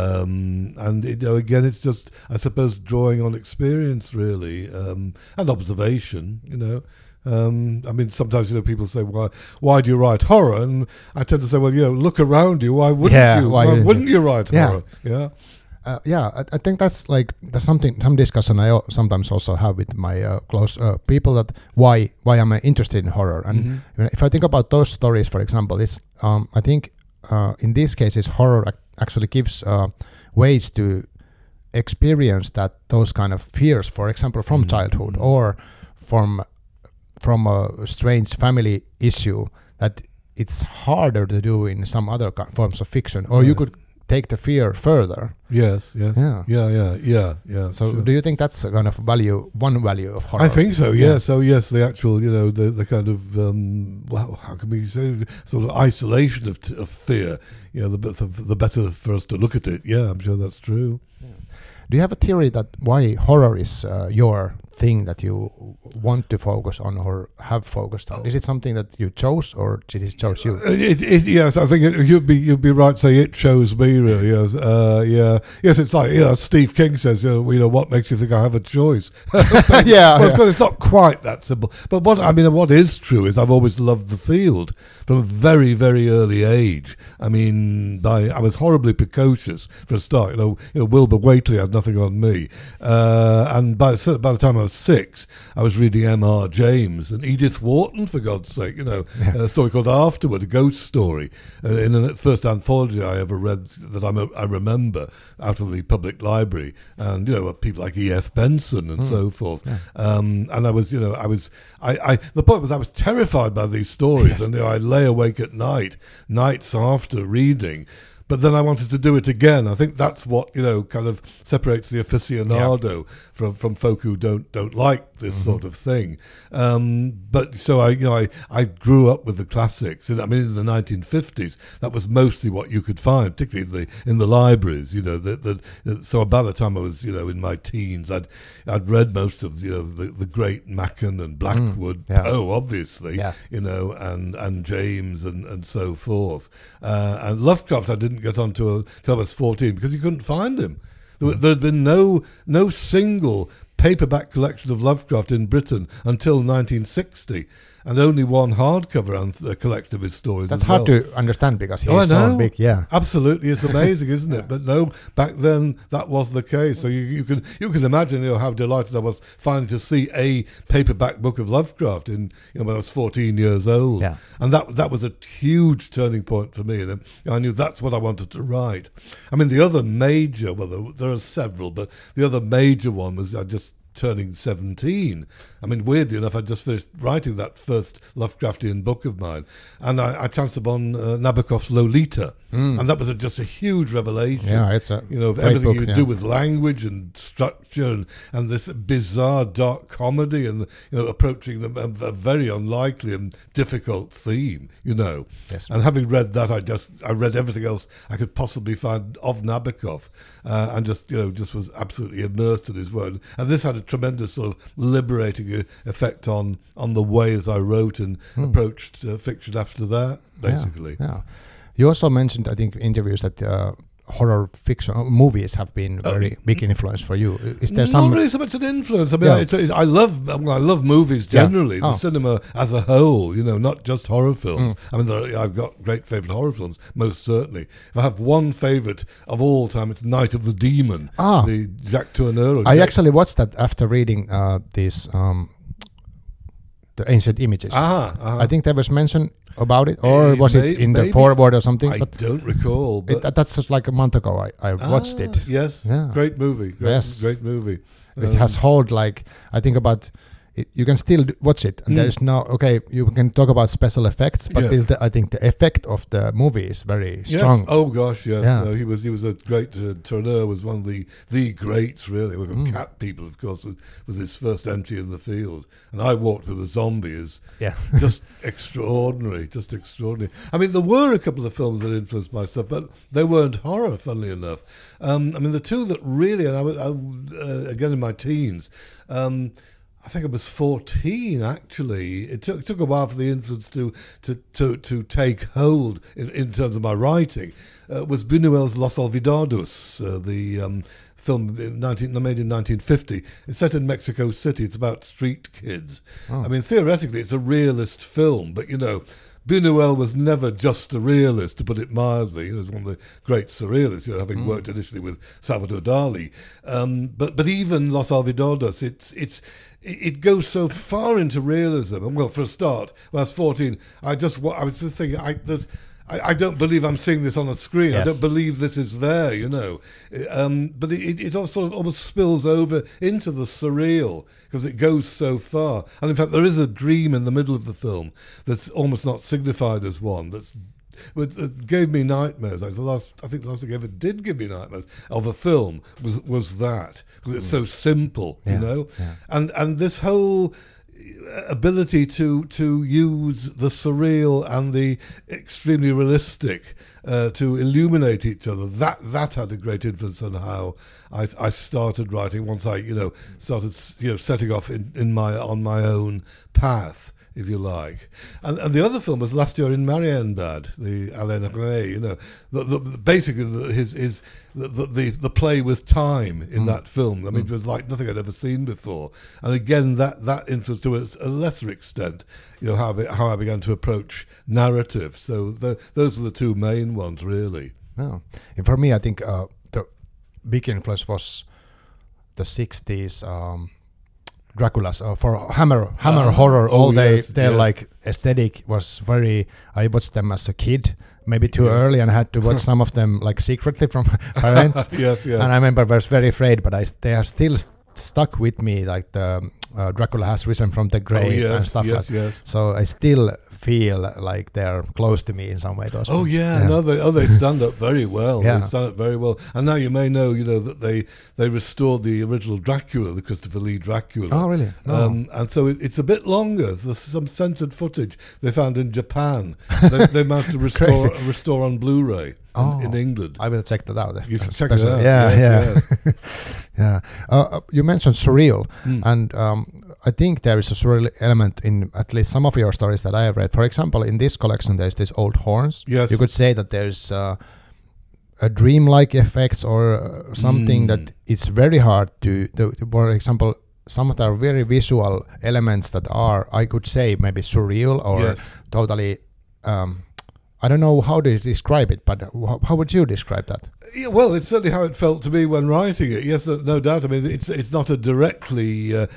Um, and you know, again, it's just, I suppose, drawing on experience really um, and observation. You know, um, I mean, sometimes you know people say, "Why, why do you write horror?" And I tend to say, "Well, you know, look around you. Why wouldn't Yeah, you? why Why, didn't wouldn't you?" you write Yeah. horror?" Yeah. Uh, yeah, I, I think that's like that's something some discussion I al- sometimes also have with my uh, close uh, people, that why why am I interested in horror? And Mhm. you know, if I think about those stories, for example, it's um, I think uh, in these cases horror ac- actually gives uh, ways to experience that those kind of fears, for example, from Mhm. childhood or from from a strange family issue that it's harder to do in some other ki- forms of fiction, or you Right. could take the fear further. Yes. Yes. Yeah. Yeah. Yeah. Yeah. Yeah. So sure. do you think that's a kind of value, one value of horror? I think so. Yeah. Yes. So yes, the actual, you know, the the kind of um, well, how can we say, sort of isolation of, t- of fear. You know, the, bet- the better for us to look at it. Yeah, I'm sure that's true. Do you have a theory that why horror is uh, your thing that you want to focus on or have focused on? Is it something that you chose, or did it chose you? Uh, It, it, yes, I think it, you'd be you'd be right to say it chose me really. Yes, uh, yeah, yes. It's like, you know, Steve King says, you know, you know, what makes you think I have a choice? yeah, well, yeah. of course, it's not quite that simple. But what I mean, what is true is I've always loved the field from a very, very early age. I mean, by I was horribly precocious for a start. You know, you know, Wilbur Whateley had nothing on me, uh, and by the, by the time I was six, I was reading M R James and Edith Wharton, for God's sake. You know, Yeah. a story called Afterward, a ghost story, uh, in the first anthology I ever read that I'm a, I remember out of the public library, and you know, people like E F Benson and Mm. so forth. Yeah. Um, and I was, you know, I was, I, I, the point was I was terrified by these stories, Yes. and you know, I lay awake at night, nights after reading. But then I wanted to do it again. I think that's what, you know, kind of separates the aficionado from, from folk who don't don't like this Mhm. sort of thing. Um, but so I, you know, I, I grew up with the classics. And I mean, in the nineteen fifties, that was mostly what you could find, particularly in the in the libraries. You know, that that. So by the time I was, you know, in my teens, I'd I'd read most of, you know, the, the great Machen and Blackwood, Mm, yeah. Poe, obviously, Yeah. you know, and and James and and so forth. Uh, and Lovecraft, I didn't get on to until I was fourteen because you couldn't find him. There, there had been no no single paperback collection of Lovecraft in Britain until nineteen sixty, and only one hardcover anth- uh, collection of his stories. That's as hard well. to understand because he's Oh, I so know. big. Yeah. Absolutely, it's amazing, isn't Yeah. it? But no, back then that was the case. So you, you can you can imagine, you know, how delighted I was finally to see a paperback book of Lovecraft in, you know, when I was fourteen years old, Yeah. and that that was a huge turning point for me. And um, I knew that's what I wanted to write. I mean, the other major, well, there, there are several, but the other major one was I just turning seventeen. I mean, weirdly enough, I just finished writing that first Lovecraftian book of mine, and I, I chanced upon uh, Nabokov's Lolita, Mm. and that was a, just a huge revelation. Yeah, it's a You know, of great everything book, you yeah. do with language and structure, and, and this bizarre dark comedy, and you know, approaching them a, a very unlikely and difficult theme. You know, Yes. and having read that, I just I read everything else I could possibly find of Nabokov, uh, and just you know just was absolutely immersed in his world. And this had a tremendous sort of liberating uh, effect on on the way that I wrote and Hmm. approached uh, fiction after that. Basically, Yeah, yeah. You also mentioned, I think, in interviews that uh, horror fiction uh, movies have been Oh. very big influence for you. Is there Not some? really so much an influence. I mean, Yeah. it's, it's, I love well, I love movies Yeah. generally, the Oh. cinema as a whole. You know, not just horror films. Mm. I mean, there are, I've got great favourite horror films, most certainly. If I have one favourite of all time, it's Night of the Demon, Ah. the Jacques Tourneur. I Jack- actually watched that after reading uh, these um, the ancient images. Ah, ah. I think there was mention about it, or Eh, was may- it in the maybe. foreword or something? I but don't recall. But it, that- that's just like a month ago. I, I watched Ah, it. Yes, Yeah. great movie. Great, Yes. great movie. It Um, has hold like I think about it, you can still d- watch it, and Mm. there's no okay. You can talk about special effects, but Yes. still the, I think the effect of the movie is very strong. Yes. Oh gosh, yes. Yeah. No, he was he was a great. Uh, Tourneur was one of the the greats, really. Well, Mm. Cat People, of course, was, was his first entry in the field, and I Walked with a Zombie is Yeah, just extraordinary, just extraordinary. I mean, there were a couple of films that influenced my stuff, but they weren't horror, funnily enough. Um, I mean, the two that really, and I was I, uh, again in my teens. Um, I think I was fourteen, actually. It took took a while for the influence to to, to, to take hold in, in terms of my writing. Uh, was Buñuel's Los Olvidados, uh, the um, film in nineteen, made in nineteen fifty. It's set in Mexico City. It's about street kids. Oh. I mean, theoretically, it's a realist film, but, you know, Buñuel was never just a realist, to put it mildly. He was one of the great surrealists, you know, having Mm. worked initially with Salvador Dali. Um, but but even Los Olvidados, it's it's it it goes so far into realism. And well, for a start, when I was fourteen, I just wa- I was just thinking, I there's. I, I don't believe I'm seeing this on a screen. Yes. I don't believe this is there, you know. Um, but it, it also sort of almost spills over into the surreal because it goes so far. And in fact, there is a dream in the middle of the film that's almost not signified as one. That's but it gave me nightmares. Like the last, I think the last thing ever did give me nightmares of a film was was that because it's so simple, Yeah, you know. yeah. And and this whole ability to to use the surreal and the extremely realistic uh, to illuminate each other, that that had a great influence on how I, I started writing once I you know started you know setting off in, in my on my own path, if you like. And, and the other film was Last Year in Marienbad, the Alain Resnais, you know, the, the, the, basically the, his, his, the, the, the, the play with time in Mm. that film. I mean, Mm. it was like nothing I'd ever seen before. And again, that, that influenced to a, a lesser extent, you know, how I, be- how I began to approach narrative. So the, those were the two main ones, really. Oh. And for me, I think uh, the big influence was the sixties um, Dracula's uh, for Hammer Hammer Ah, horror. oh, All they yes, their yes. like aesthetic was very. I watched them as a kid, maybe too Yes. early, and I had to watch some of them like secretly from parents. Yes, yes. And I remember I was very afraid, but I they are still st- stuck with me. Like the uh, Dracula has risen from the grave oh, yes, and stuff yes, like. yes. So I still feel like they're close to me in some way. Those Oh ones. yeah, no, they oh they stand up very well. Yeah. They stand up very well. And now you may know, you know, that they they restored the original Dracula, the Christopher Lee Dracula. Oh really? No. Um, and so it, it's a bit longer. There's some censored footage they found in Japan. they, they managed to restore Crazy. restore on Blu-ray in, Oh. in England. I will check that out. You should check it Especially- out. Yeah, Yes, yeah, yeah. Uh, uh, you mentioned surreal, Mm. and um, I think there is a surreal element in at least some of your stories that I have read. For example, in this collection, there's this old horns. Yes. You could say that there's uh, a dreamlike effects or uh, something Mm. that it's very hard to, to, to. For example, some of the very visual elements that are, I could say, maybe surreal or Yes. totally. Um, I don't know how to describe it, but wh- how would you describe that? Yeah, well, it's certainly how it felt to me when writing it. Yes, no no doubt. I mean, it's it's not a directly. Uh,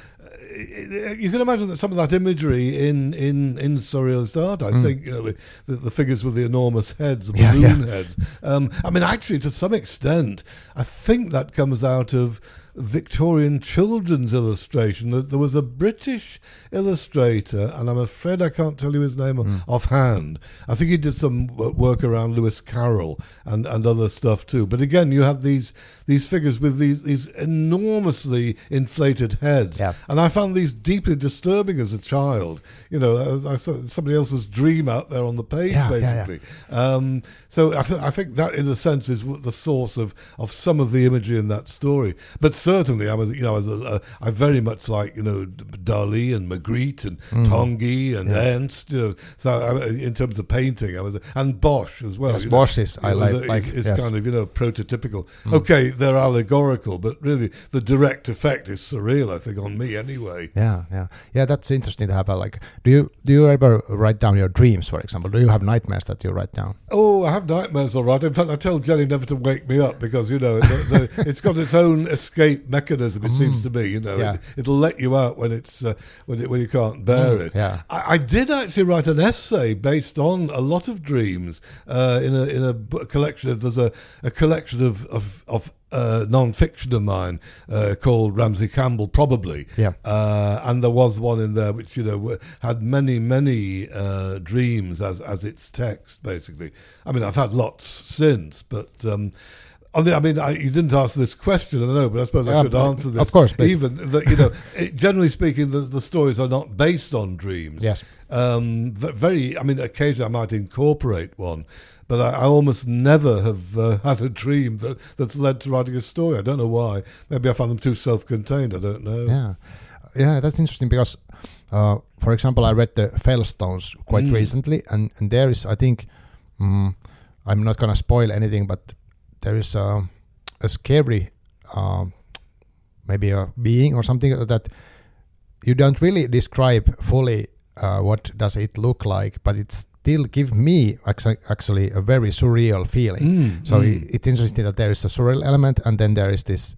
you can imagine that some of that imagery in in in surrealist art. I Mm. think you know the, the, the figures with the enormous heads, the Yeah, balloon yeah. heads. Um, I mean, actually, to some extent, I think that comes out of Victorian children's illustration. There there was a British illustrator, and I'm afraid I can't tell you his name Mm. offhand. I think he did some wo- work around Lewis Carroll and, and other stuff too. But again, you have these these figures with these these enormously inflated heads, Yeah. and I found these deeply disturbing as a child. You know, I, I saw somebody else's dream out there on the page, Yeah, yeah, yeah. basically. Um, so I, th- I think that, in a sense, is what the source of, of some of the imagery in that story. But certainly, I was, you know, I, was a, uh, I very much like, you know, Dali and Magritte and Mm. Tanguy and Yeah. Ernst. You know, so I, in terms of painting, I was, and Bosch as well. Yes, you know. Bosch is, I It was like, a- like it's, it's yes. kind of, you know, prototypical. Mm. Okay, they're allegorical, but really the direct effect is surreal, I think, on me anyway. Yeah, yeah, yeah. That's interesting to have a like. Do you do you ever write down your dreams, for example? Do you have nightmares that you write down? Oh, I have nightmares, all right. In fact, I tell Jenny never to wake me up because, you know, the, the, it's got its own escape escape mechanism. It mm. seems to me, you know, yeah. it, it'll let you out when it's uh, when it, when you can't bear mm, it. Yeah. I, I did actually write an essay based on a lot of dreams uh, in a in a book collection. There's a, a collection of of, of Uh, non-fiction of mine uh, called Ramsey Campbell, probably. Yeah. Uh, and there was one in there which, you know, w- had many, many uh, dreams as as its text, basically. I mean, I've had lots since, but um, on the, I mean, I, you didn't ask this question, I know, but I suppose I yeah, should answer this. Of course. Even that, you know, it, generally speaking, the, the stories are not based on dreams. Yes. Um, very. I mean, occasionally I might incorporate one. But I, I almost never have uh, had a dream that, that's led to writing a story. I don't know why. Maybe I found them too self-contained. I don't know. Yeah, yeah, that's interesting because, uh, for example, I read the Fellstones quite mm. recently, and, and there is, I think, um, I'm not going to spoil anything, but there is a, a scary, uh, maybe a being or something that you don't really describe fully uh, what does it look like, but it's still give me actually a very surreal feeling. Mm, so mm. It, it's interesting that there is a surreal element, and then there is this,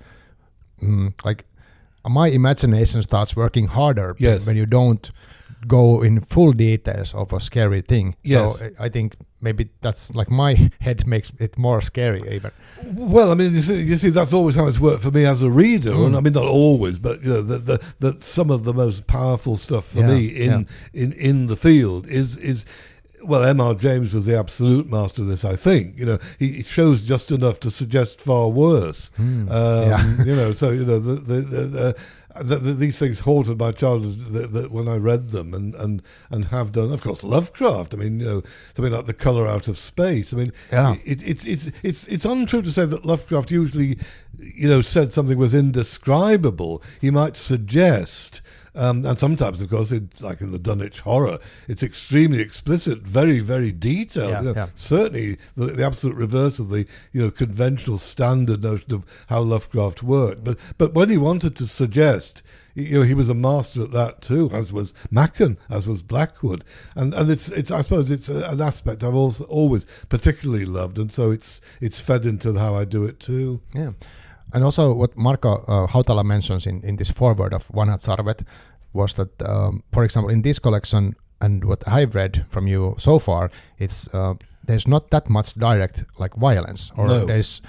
um, like, my imagination starts working harder yes. when you don't go in full details of a scary thing. Yes. So I think maybe that's like my head makes it more scary even. Well, I mean, you see, you see, that's always how it's worked for me as a reader. Mm. And I mean, not always, but you know, that the, the, some of the most powerful stuff for yeah, me in, yeah. in in the field is is. Well, M R James was the absolute master of this, I think. You know, he shows just enough to suggest far worse. Mm, um, yeah. You know, so, you know, the, the, the, the, the, the, these things haunted my childhood the, the, when I read them and, and, and have done. Of course, Lovecraft. I mean, you know, something like The Colour Out of Space. I mean, yeah. it, it's, it's, it's, it's untrue to say that Lovecraft usually, you know, said something was indescribable. He might suggest... Um, and sometimes, of course, it, like in the Dunwich Horror, it's extremely explicit, very, very detailed. Yeah, you know, yeah. Certainly, the, the absolute reverse of the you know conventional standard notion of how Lovecraft worked. But but when he wanted to suggest, you know, he was a master at that too, as was Machen, as was Blackwood, and and it's it's I suppose it's a, an aspect I've also always particularly loved, and so it's it's fed into how I do it too. Yeah. And also what Marko uh, Hautala mentions in, in this foreword of Vanhat Sarvet was that, um, for example, in this collection and what I've read from you so far, it's uh, there's not that much direct like violence, or no. there's,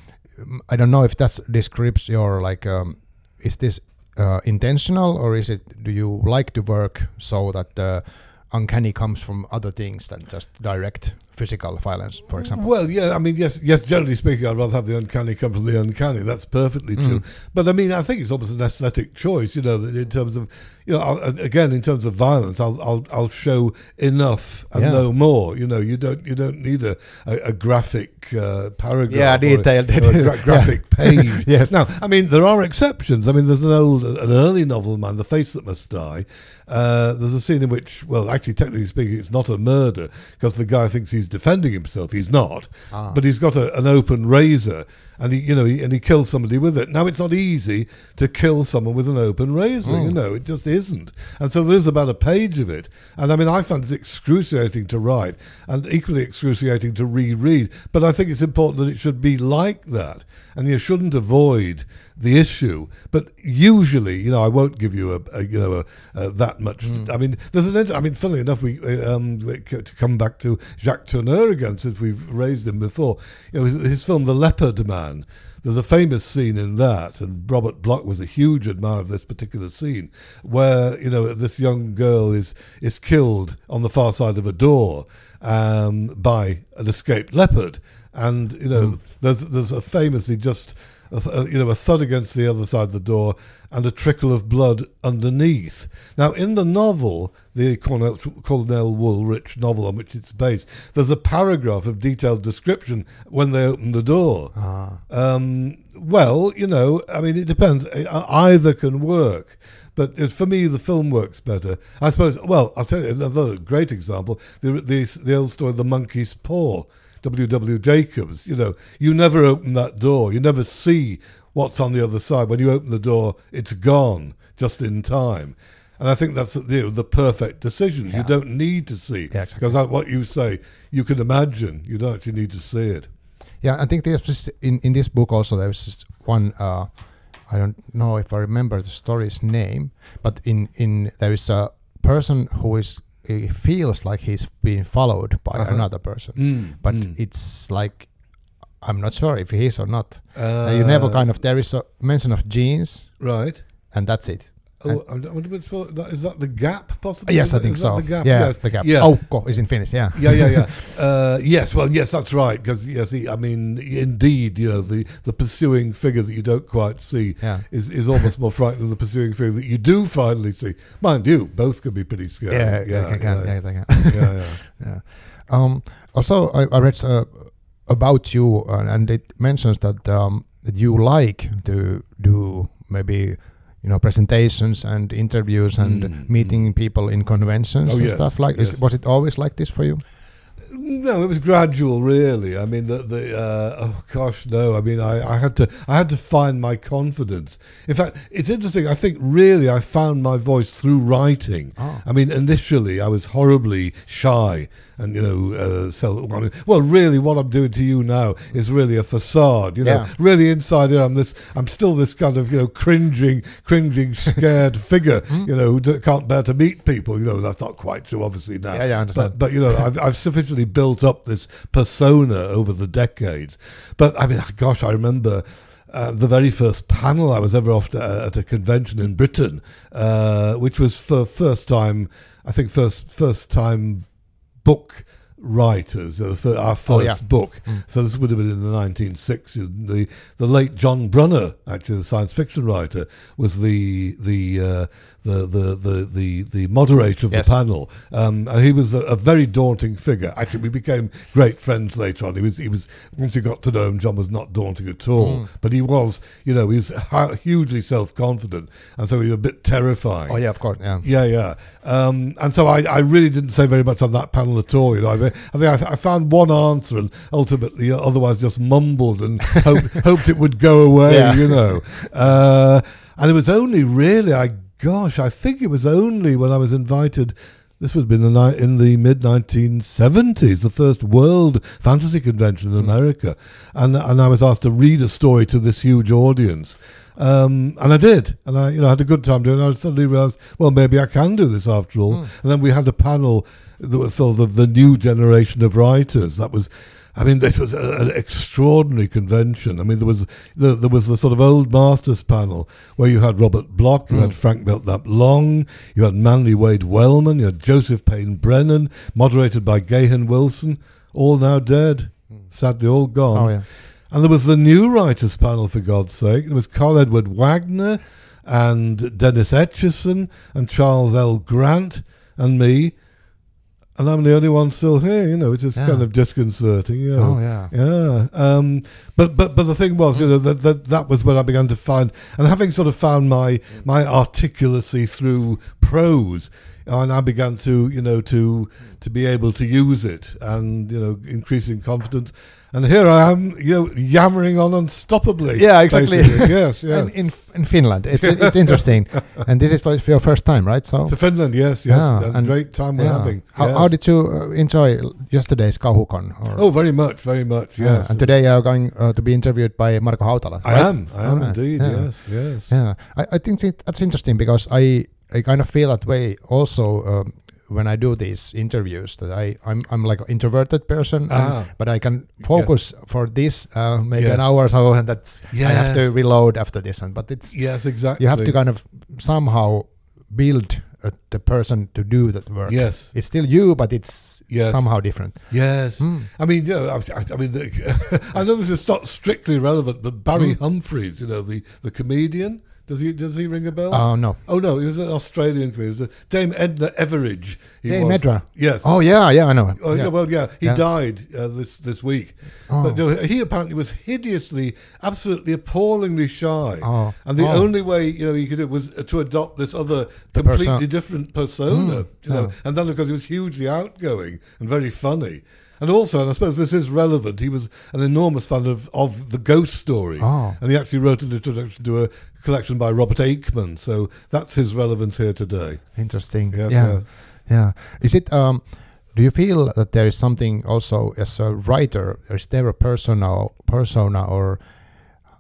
I don't know if that describes your like, um, is this uh, intentional, or is it, do you like to work so that the uncanny comes from other things than just direct physical violence, for example? Well, yeah, I mean, yes, yes. Generally speaking, I'd rather have the uncanny come from the uncanny. That's perfectly true. Mm. But I mean, I think it's almost an aesthetic choice, you know, that in terms of, you know, I'll, again, in terms of violence, I'll I'll, I'll show enough and yeah. no more. You know, you don't you don't need a a, a graphic uh, paragraph, yeah, detailed, a, you know, a gra- graphic yeah. page. Yes. Now, I mean, there are exceptions. I mean, there's an old, an early novel of mine, The Face That Must Die. Uh, there's a scene in which, well, actually, technically speaking, it's not a murder because the guy thinks he's defending himself. He's not, ah. but he's got a, an open razor, and he, you know, he, and he kills somebody with it. Now, it's not easy to kill someone with an open razor. Mm. You know, it just isn't. And so there is about a page of it. And I mean, I found it excruciating to write and equally excruciating to reread. But I think it's important that it should be like that, and you shouldn't avoid the issue. But usually, you know, I won't give you a, a you know a, a that much. Mm. I mean, there's an. I mean, funnily enough, we um, to come back to Jacques Tourneur again, since we've raised him before. You know, his, his film The Leopard Man. There's a famous scene in that, and Robert Bloch was a huge admirer of this particular scene, where, you know, this young girl is is killed on the far side of a door um, by an escaped leopard, and you know, mm. there's there's a famously just. A, a, you know, a thud against the other side of the door and a trickle of blood underneath. Now, in the novel, the Cornell, Cornell Woolrich novel on which it's based, there's a paragraph of detailed description when they open the door. Ah. Um, well, you know, I mean, it depends. Either can work. But for me, the film works better. I suppose, well, I'll tell you another great example, the, the, the old story, The Monkey's Paw. W W Jacobs, you know, you never open that door. You never see what's on the other side. When you open the door, it's gone just in time. And I think that's, you know, the perfect decision. Yeah. You don't need to see. Yeah, exactly. Because what you say, you can imagine. You don't actually need to see it. Yeah, I think there's just in, in this book also, there's just one, uh, I don't know if I remember the story's name, but in, in there is a person who is he feels like he's being followed by Uh-huh. another person, Mm, but mm. it's like I'm not sure if he is or not. Uh, Uh, you never kind of there is a mention of genes, right. and that's it. Oh, I wonder if it's- that- is that the gap possibly? Yes, Is I that- think is that so. the gap? Yeah, Yes. the gap. Yeah. Aukko is in Finnish. Yeah. yeah, yeah, yeah. Uh, yes, well, yes, that's right. Because yes, the, I mean, indeed, you know, the, the pursuing figure that you don't quite see Yeah. is, is almost more frightening than the pursuing figure that you do finally see. Mind you, both can be pretty scary. Yeah, yeah, they can, yeah, yeah, they can. yeah, yeah. Yeah. Um, also, I, I read uh, about you, uh, and it mentions that um, that you like to do maybe you know presentations and interviews and Mm, meeting people in conventions Oh, and yes, stuff like. yes. Is, was it always like this for you? No, it was gradual, really. I mean, the the uh, oh gosh, no. I mean, I, I had to I had to find my confidence. In fact, it's interesting. I think really I found my voice through writing. Oh. I mean, initially I was horribly shy and you know, uh, self. I mean, well, really, what I'm doing to you now is really a facade. You know, Yeah. really inside here, I'm this. I'm still this kind of you know cringing, cringing, scared figure. You know, who d- can't bear to meet people. You know, that's not quite true, obviously now. Yeah, yeah, I understand. But, but you know, I've, I've sufficiently built up this persona over the decades. But I mean, gosh, I remember uh, the very first panel I was ever off to, uh, at a convention in Britain, uh, which was for first time, I think first first time book writers, uh, for our first Oh, yeah. book. So this would have been in the nineteen sixties. The the late John Brunner, actually the science fiction writer, was the the uh, the, the the the the moderator of Yes. the panel, um, and he was a, a very daunting figure. Actually, we became great friends later on. He was he was once you got to know him, John was not daunting at all, but he was, you know, he was hu- hugely self confident, and so he was a bit terrifying. Oh yeah, of course. Yeah. Yeah, yeah. Um, and so I, I really didn't say very much on that panel at all. You know, I, mean, I think I, th- I found one answer and ultimately, uh, otherwise, just mumbled and hope, hoped it would go away. Yeah. You know, uh, and it was only really, I gosh, I think it was only when I was invited. This would have been the ni- in the mid nineteen seventies, the first World Fantasy Convention in America, and and I was asked to read a story to this huge audience. Um, and I did, and I, you know, had a good time doing it. I suddenly realised, well, maybe I can do this after all. Mm. And then we had a panel that was sort of the new generation of writers. That was, I mean, this was a, an extraordinary convention. I mean, there was the, there was the sort of old masters panel where you had Robert Bloch, you Mm. had Frank Belknap Long, you had Manly Wade Wellman, you had Joseph Payne Brennan, moderated by Gahan Wilson, all now dead, sadly all gone. Oh yeah. And there was the new writers panel, for God's sake. There was Carl Edward Wagner and Dennis Etchison and Charles L. Grant and me. And I'm the only one still here, you know, which is Yeah. kind of disconcerting. You know. Oh yeah. Yeah. Um, but, but but the thing was, you know, that, that that was when I began to find, and having sort of found my my articulacy through prose, I now began to, you know, to to be able to use it, and you know, increasing confidence. And here I am, you know, yammering on unstoppably. Yeah, exactly. basically. Yes, yes. And in in Finland, it's it's interesting, and this is for for your first time, right? So. To Finland, yes, yes. Yeah, and and- great time we're yeah. having. How, yes. how did you uh, enjoy yesterday's Kauhucon? Or- Oh, very much, very much, Yeah, yes. and today you are going uh, to be interviewed by Marko Hautala. I right? am, I am Alright, indeed, yeah. yes, yes. Yeah, I, I think it, that's interesting because I I kind of feel that way also um, when I do these interviews. That I I'm I'm like an introverted person, and- Ah. but I can focus for this uh, maybe Yes. an hour or so, and that's I have to Yes. reload after this. And but it's Yes, exactly. you have to kind of somehow build uh, the person to do that work. Yes, It's still you, but it's Yes. somehow different. yes. Mm. I mean, you know, I, I, I mean, the, I know this is not strictly relevant, but Barry Mm. Humphries, you know, the, the comedian, does he does he ring a bell? Oh no, oh no, he was an Australian comedian. It was, uh, Dame Edna Everidge. He Dame was. Edna. Yes. Oh yeah, yeah, I know. Oh, yeah. yeah, well, yeah, he Yeah. died uh, this this week. Oh. But no, he apparently was hideously, absolutely appallingly shy. Oh. And the Oh. only way, you know, he could do was to adopt this other The completely perso- different persona. Mm, you know, yeah. and then because he was hugely outgoing and very funny. And also, and I suppose this is relevant, he was an enormous fan of, of the Ghost Story. Oh. And he actually wrote an introduction to a collection by Robert Aikman. So that's his relevance here today. Interesting. Yes, yeah. yes. Yeah. Is it um do you feel that there is something also as a writer, is there a persona persona or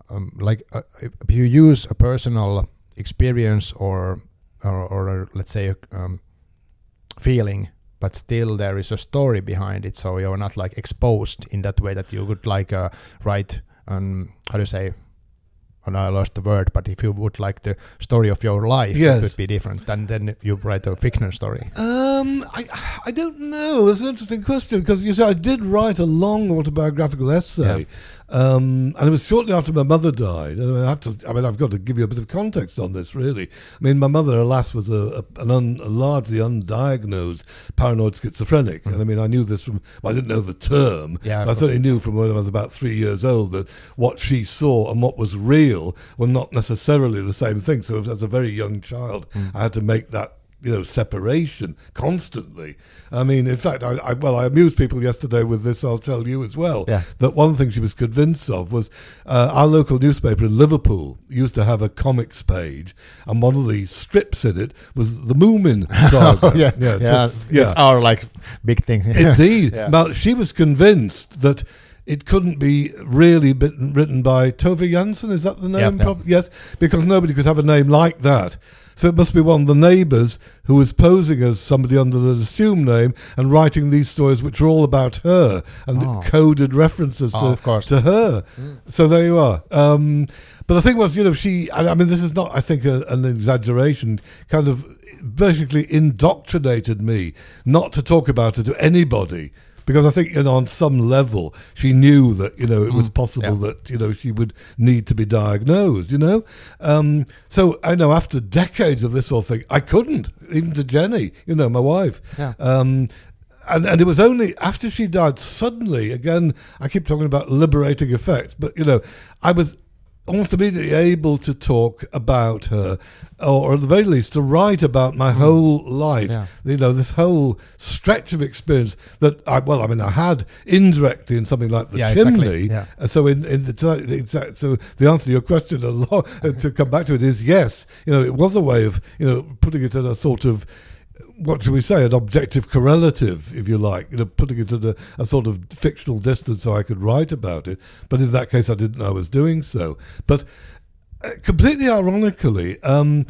um, like uh, if you use a personal experience or or, or let's say um, feeling, but still there is a story behind it, so you're not like exposed in that way that you would like uh, write um how do you say, and I lost the word, but if you would like the story of your life, yes. it would be different than then you write a fiction story. Um, I I don't know. That's an interesting question, because you see, I did write a long autobiographical essay, yeah. um, and it was shortly after my mother died. And I have to. I mean, I've got to give you a bit of context on this, really. I mean, my mother, alas, was a, a an un, a largely undiagnosed paranoid schizophrenic, mm. and I mean, I knew this from. Well, I didn't know the term. Yeah, I certainly knew from when I was about three years old that what she saw and what was real were not necessarily the same thing. So, as a very young child, mm. I had to make that, you know, separation constantly. I mean, in fact, I, I well, I amused people yesterday with this. I'll tell you as well. Yeah. That one thing she was convinced of was uh, our local newspaper in Liverpool used to have a comics page, and one of the strips in it was the Moomin saga. oh, yeah, yeah, yeah, to, yeah. It's our like big thing. Indeed. yeah. Now, she was convinced that it couldn't be really bitten, written by Tove Jansson, is that the name? Yep, yep. Yes, because nobody could have a name like that. So it must be one of the neighbours who was posing as somebody under an assumed name and writing these stories which are all about her and oh. coded references oh, to, to her. Mm. So there you are. Um, but the thing was, you know, she, I mean, this is not, I think, a, an exaggeration, kind of basically indoctrinated me not to talk about it to anybody. Because I think, you know, on some level, she knew that, you know, it was possible yeah. that, you know, she would need to be diagnosed, you know. Um, so, I know, after decades of this sort of thing, I couldn't, even to Jenny, you know, my wife. Yeah. Um, and, and it was only after she died, suddenly, again, I keep talking about liberating effects, but, you know, I was almost immediately able to talk about her, or at the very least to write about my mm. whole life. Yeah. You know, this whole stretch of experience that I, well, I mean, I had indirectly in something like The yeah, Chimney. Exactly. Yeah. Uh, so in, in the exact, so the answer to your question, a lot, to come back to it, is yes. You know, it was a way of, you know, putting it at a sort of, what should we say, an objective correlative, if you like, you know, putting it at a, a sort of fictional distance so I could write about it. But in that case, I didn't know I was doing so. But uh, completely ironically, um,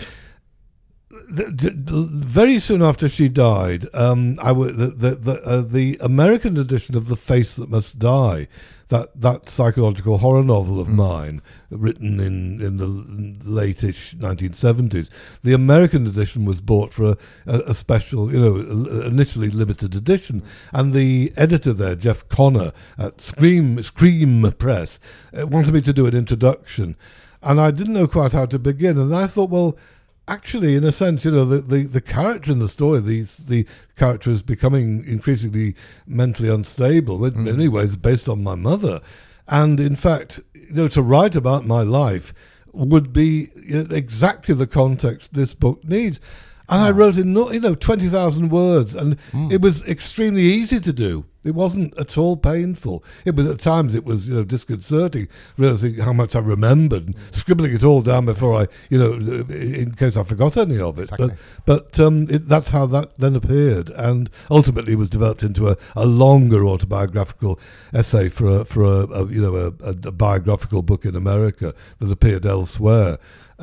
the, the, very soon after she died, um, I w- the the the, uh, the American edition of The Face That Must Die, that that psychological horror novel of mm. mine, written in, in the late-ish nineteen seventies, the American edition was bought for a, a, a special, you know, initially limited edition, and the editor there, Jeff Connor at Scream Scream Press, uh, wanted me to do an introduction, and I didn't know quite how to begin, and I thought, well, actually, in a sense, you know, the, the, the character in the story, the, the character is becoming increasingly mentally unstable, in mm. many ways based on my mother. And in fact, you know, to write about my life would be exactly the context this book needs. And oh. I wrote in, you know, twenty thousand words, and mm. it was extremely easy to do. It wasn't at all painful. It was, at times, it was, you know, disconcerting, realizing how much I remembered, and scribbling it all down before I, you know, in case I forgot any of it. Exactly. But, but um, it, that's how that then appeared, and ultimately was developed into a, a longer autobiographical essay for a, for a, a you know a, a, a biographical book in America that appeared elsewhere.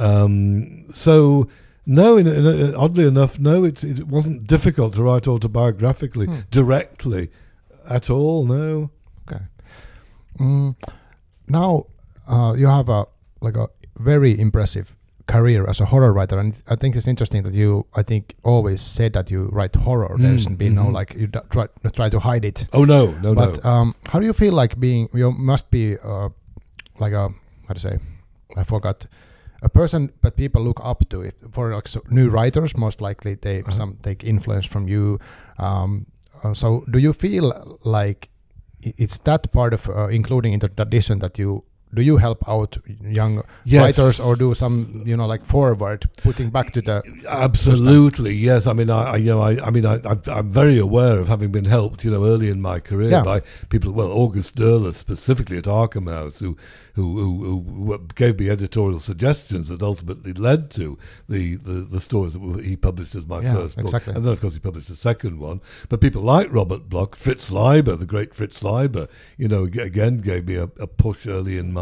Um, so. No, in, in, in, oddly enough, no, it, it wasn't difficult to write autobiographically, hmm. directly, at all, no. Okay. Mm, now, uh, you have a like a very impressive career as a horror writer, and I think it's interesting that you, I think, always said that you write horror. Mm, There's been mm-hmm. no, like, you d- try, try to hide it. Oh, no, no, but, no. But um, how do you feel like being, you must be uh, like a, how to say, I forgot, a person that people look up to. If for like so new writers, most likely they uh-huh. some take influence from you. Um, uh, so, do you feel like it's that part of uh, including in the tradition that you do you help out young yes. writers, or do some, you know, like forward putting back to the absolutely system? Yes. I mean, I, I you know, I, I mean, I, I, I'm very aware of having been helped, you know, early in my career yeah. by people. Well, August Derleth specifically at Arkham House, who, who, who, who gave me editorial suggestions that ultimately led to the, the, the stories that he published as my yeah, first book, exactly. and then of course he published a second one. But people like Robert Bloch, Fritz Leiber, the great Fritz Leiber, you know, again gave me a, a push early in my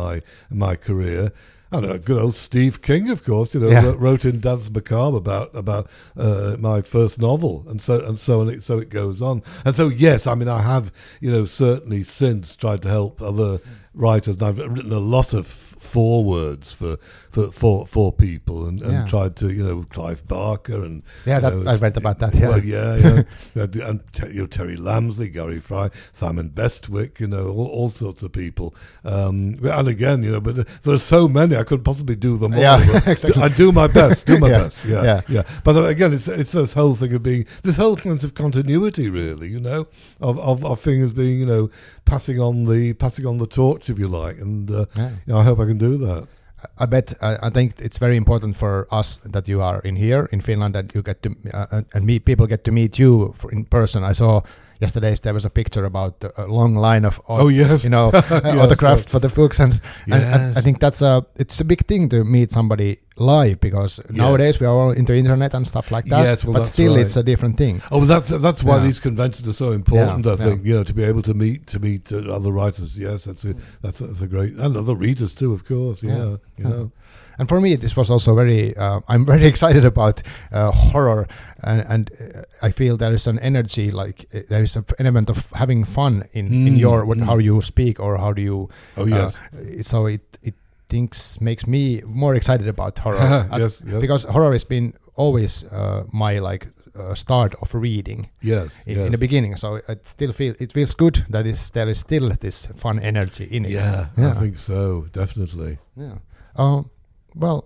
my my career. I know, good old Steve King, of course, you know, Yeah. wrote, wrote in Dance Macabre about about uh, my first novel, and so and so and it, so it goes on. And so, yes, I mean, I have, you know, certainly since tried to help other writers. And I've written a lot of forewords for for for, for people, and, and Yeah. tried to, you know, Clive Barker and Yeah, that, you know, I read about that. Yeah, well, yeah, yeah, You know, and te- you know, Terry Lamsley, Gary Fry, Simon Bestwick, you know, all, all sorts of people. Um, and again, you know, but there are so many, I couldn't possibly do them all. Yeah, But exactly. I do my best, do my Yeah, best. Yeah, yeah. yeah, But uh, again, it's it's this whole thing of being this whole sense of continuity, really. You know, of of, of things being, you know, passing on the passing on the torch, if you like. And uh, Yeah. you know, I hope I can do that. I bet uh, I think it's very important for us that you are in here in Finland, that you get to uh, and meet people get to meet you for in person. I saw yesterday there was a picture about a long line of Oh, yes. you know uh, Yes, autographed yes. for the books, and, and, and Yes. I think that's a it's a big thing to meet somebody live, because nowadays we are all into internet and stuff like that. Yes, well, but that's still, right. it's a different thing. Oh, well, that's that's why Yeah. these conventions are so important. Yeah, I think yeah. you know, to be able to meet to meet uh, other writers. Yes, that's a that's a, that's a great, and other readers too, of course. Yeah, Yeah, you yeah. know. And for me, this was also very. Uh, I'm very excited about uh, horror, and, and uh, I feel there is an energy, like uh, there is an element of having fun in, in Mm, your what, mm. how you speak or how do you. Oh, yes. Uh, so it it thinks makes me more excited about horror. Uh, Yes, yes. Because horror has been always uh, my like uh, start of reading Yes, in, yes. in the beginning. So it still feel it feels good that is there is still this fun energy in it. Yeah, Yeah. I think so. Definitely. Yeah. Um, well,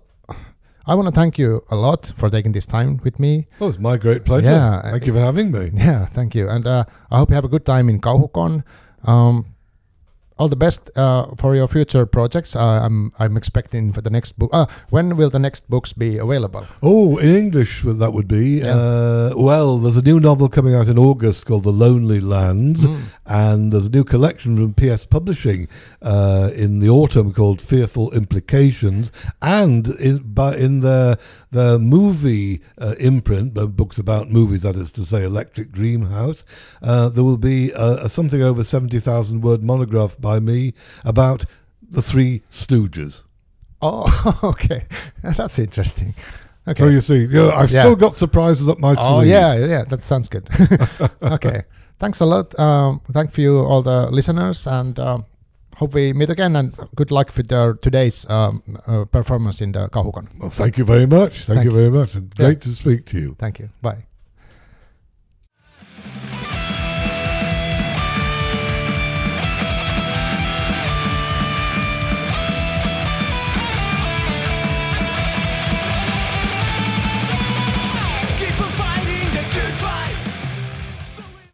I want to thank you a lot for taking this time with me. Oh, it's my great pleasure. Yeah, Thank you for having me. Yeah, thank you. And uh, I hope you have a good time in Kauhucon. Um, all the best uh, for your future projects. Uh, I'm I'm expecting for the next book. Uh, when will the next books be available? Oh, in English, well, that would be. Yeah. Uh, well, there's a new novel coming out in August called The Lonely Lands, Mm. and there's a new collection from P S Publishing uh, in the autumn called Fearful Implications, and in, by, in their, their movie uh, imprint, uh, books about movies, that is to say, Electric Dream House, uh, there will be a, a something over seventy thousand word monograph by me about the Three Stooges. Oh, okay. That's interesting. Okay. So you see, you know, I've Yeah. still got surprises up my Oh, sleeve. yeah, yeah. That sounds good. Okay. Thanks a lot. Um, thank you, all the listeners, and um, hope we meet again. And good luck with the, today's um, uh, performance in the Kauhucon. Well, thank you very much. Thank, Thank you you. very much. And Yeah. great to speak to you. Thank you. Bye.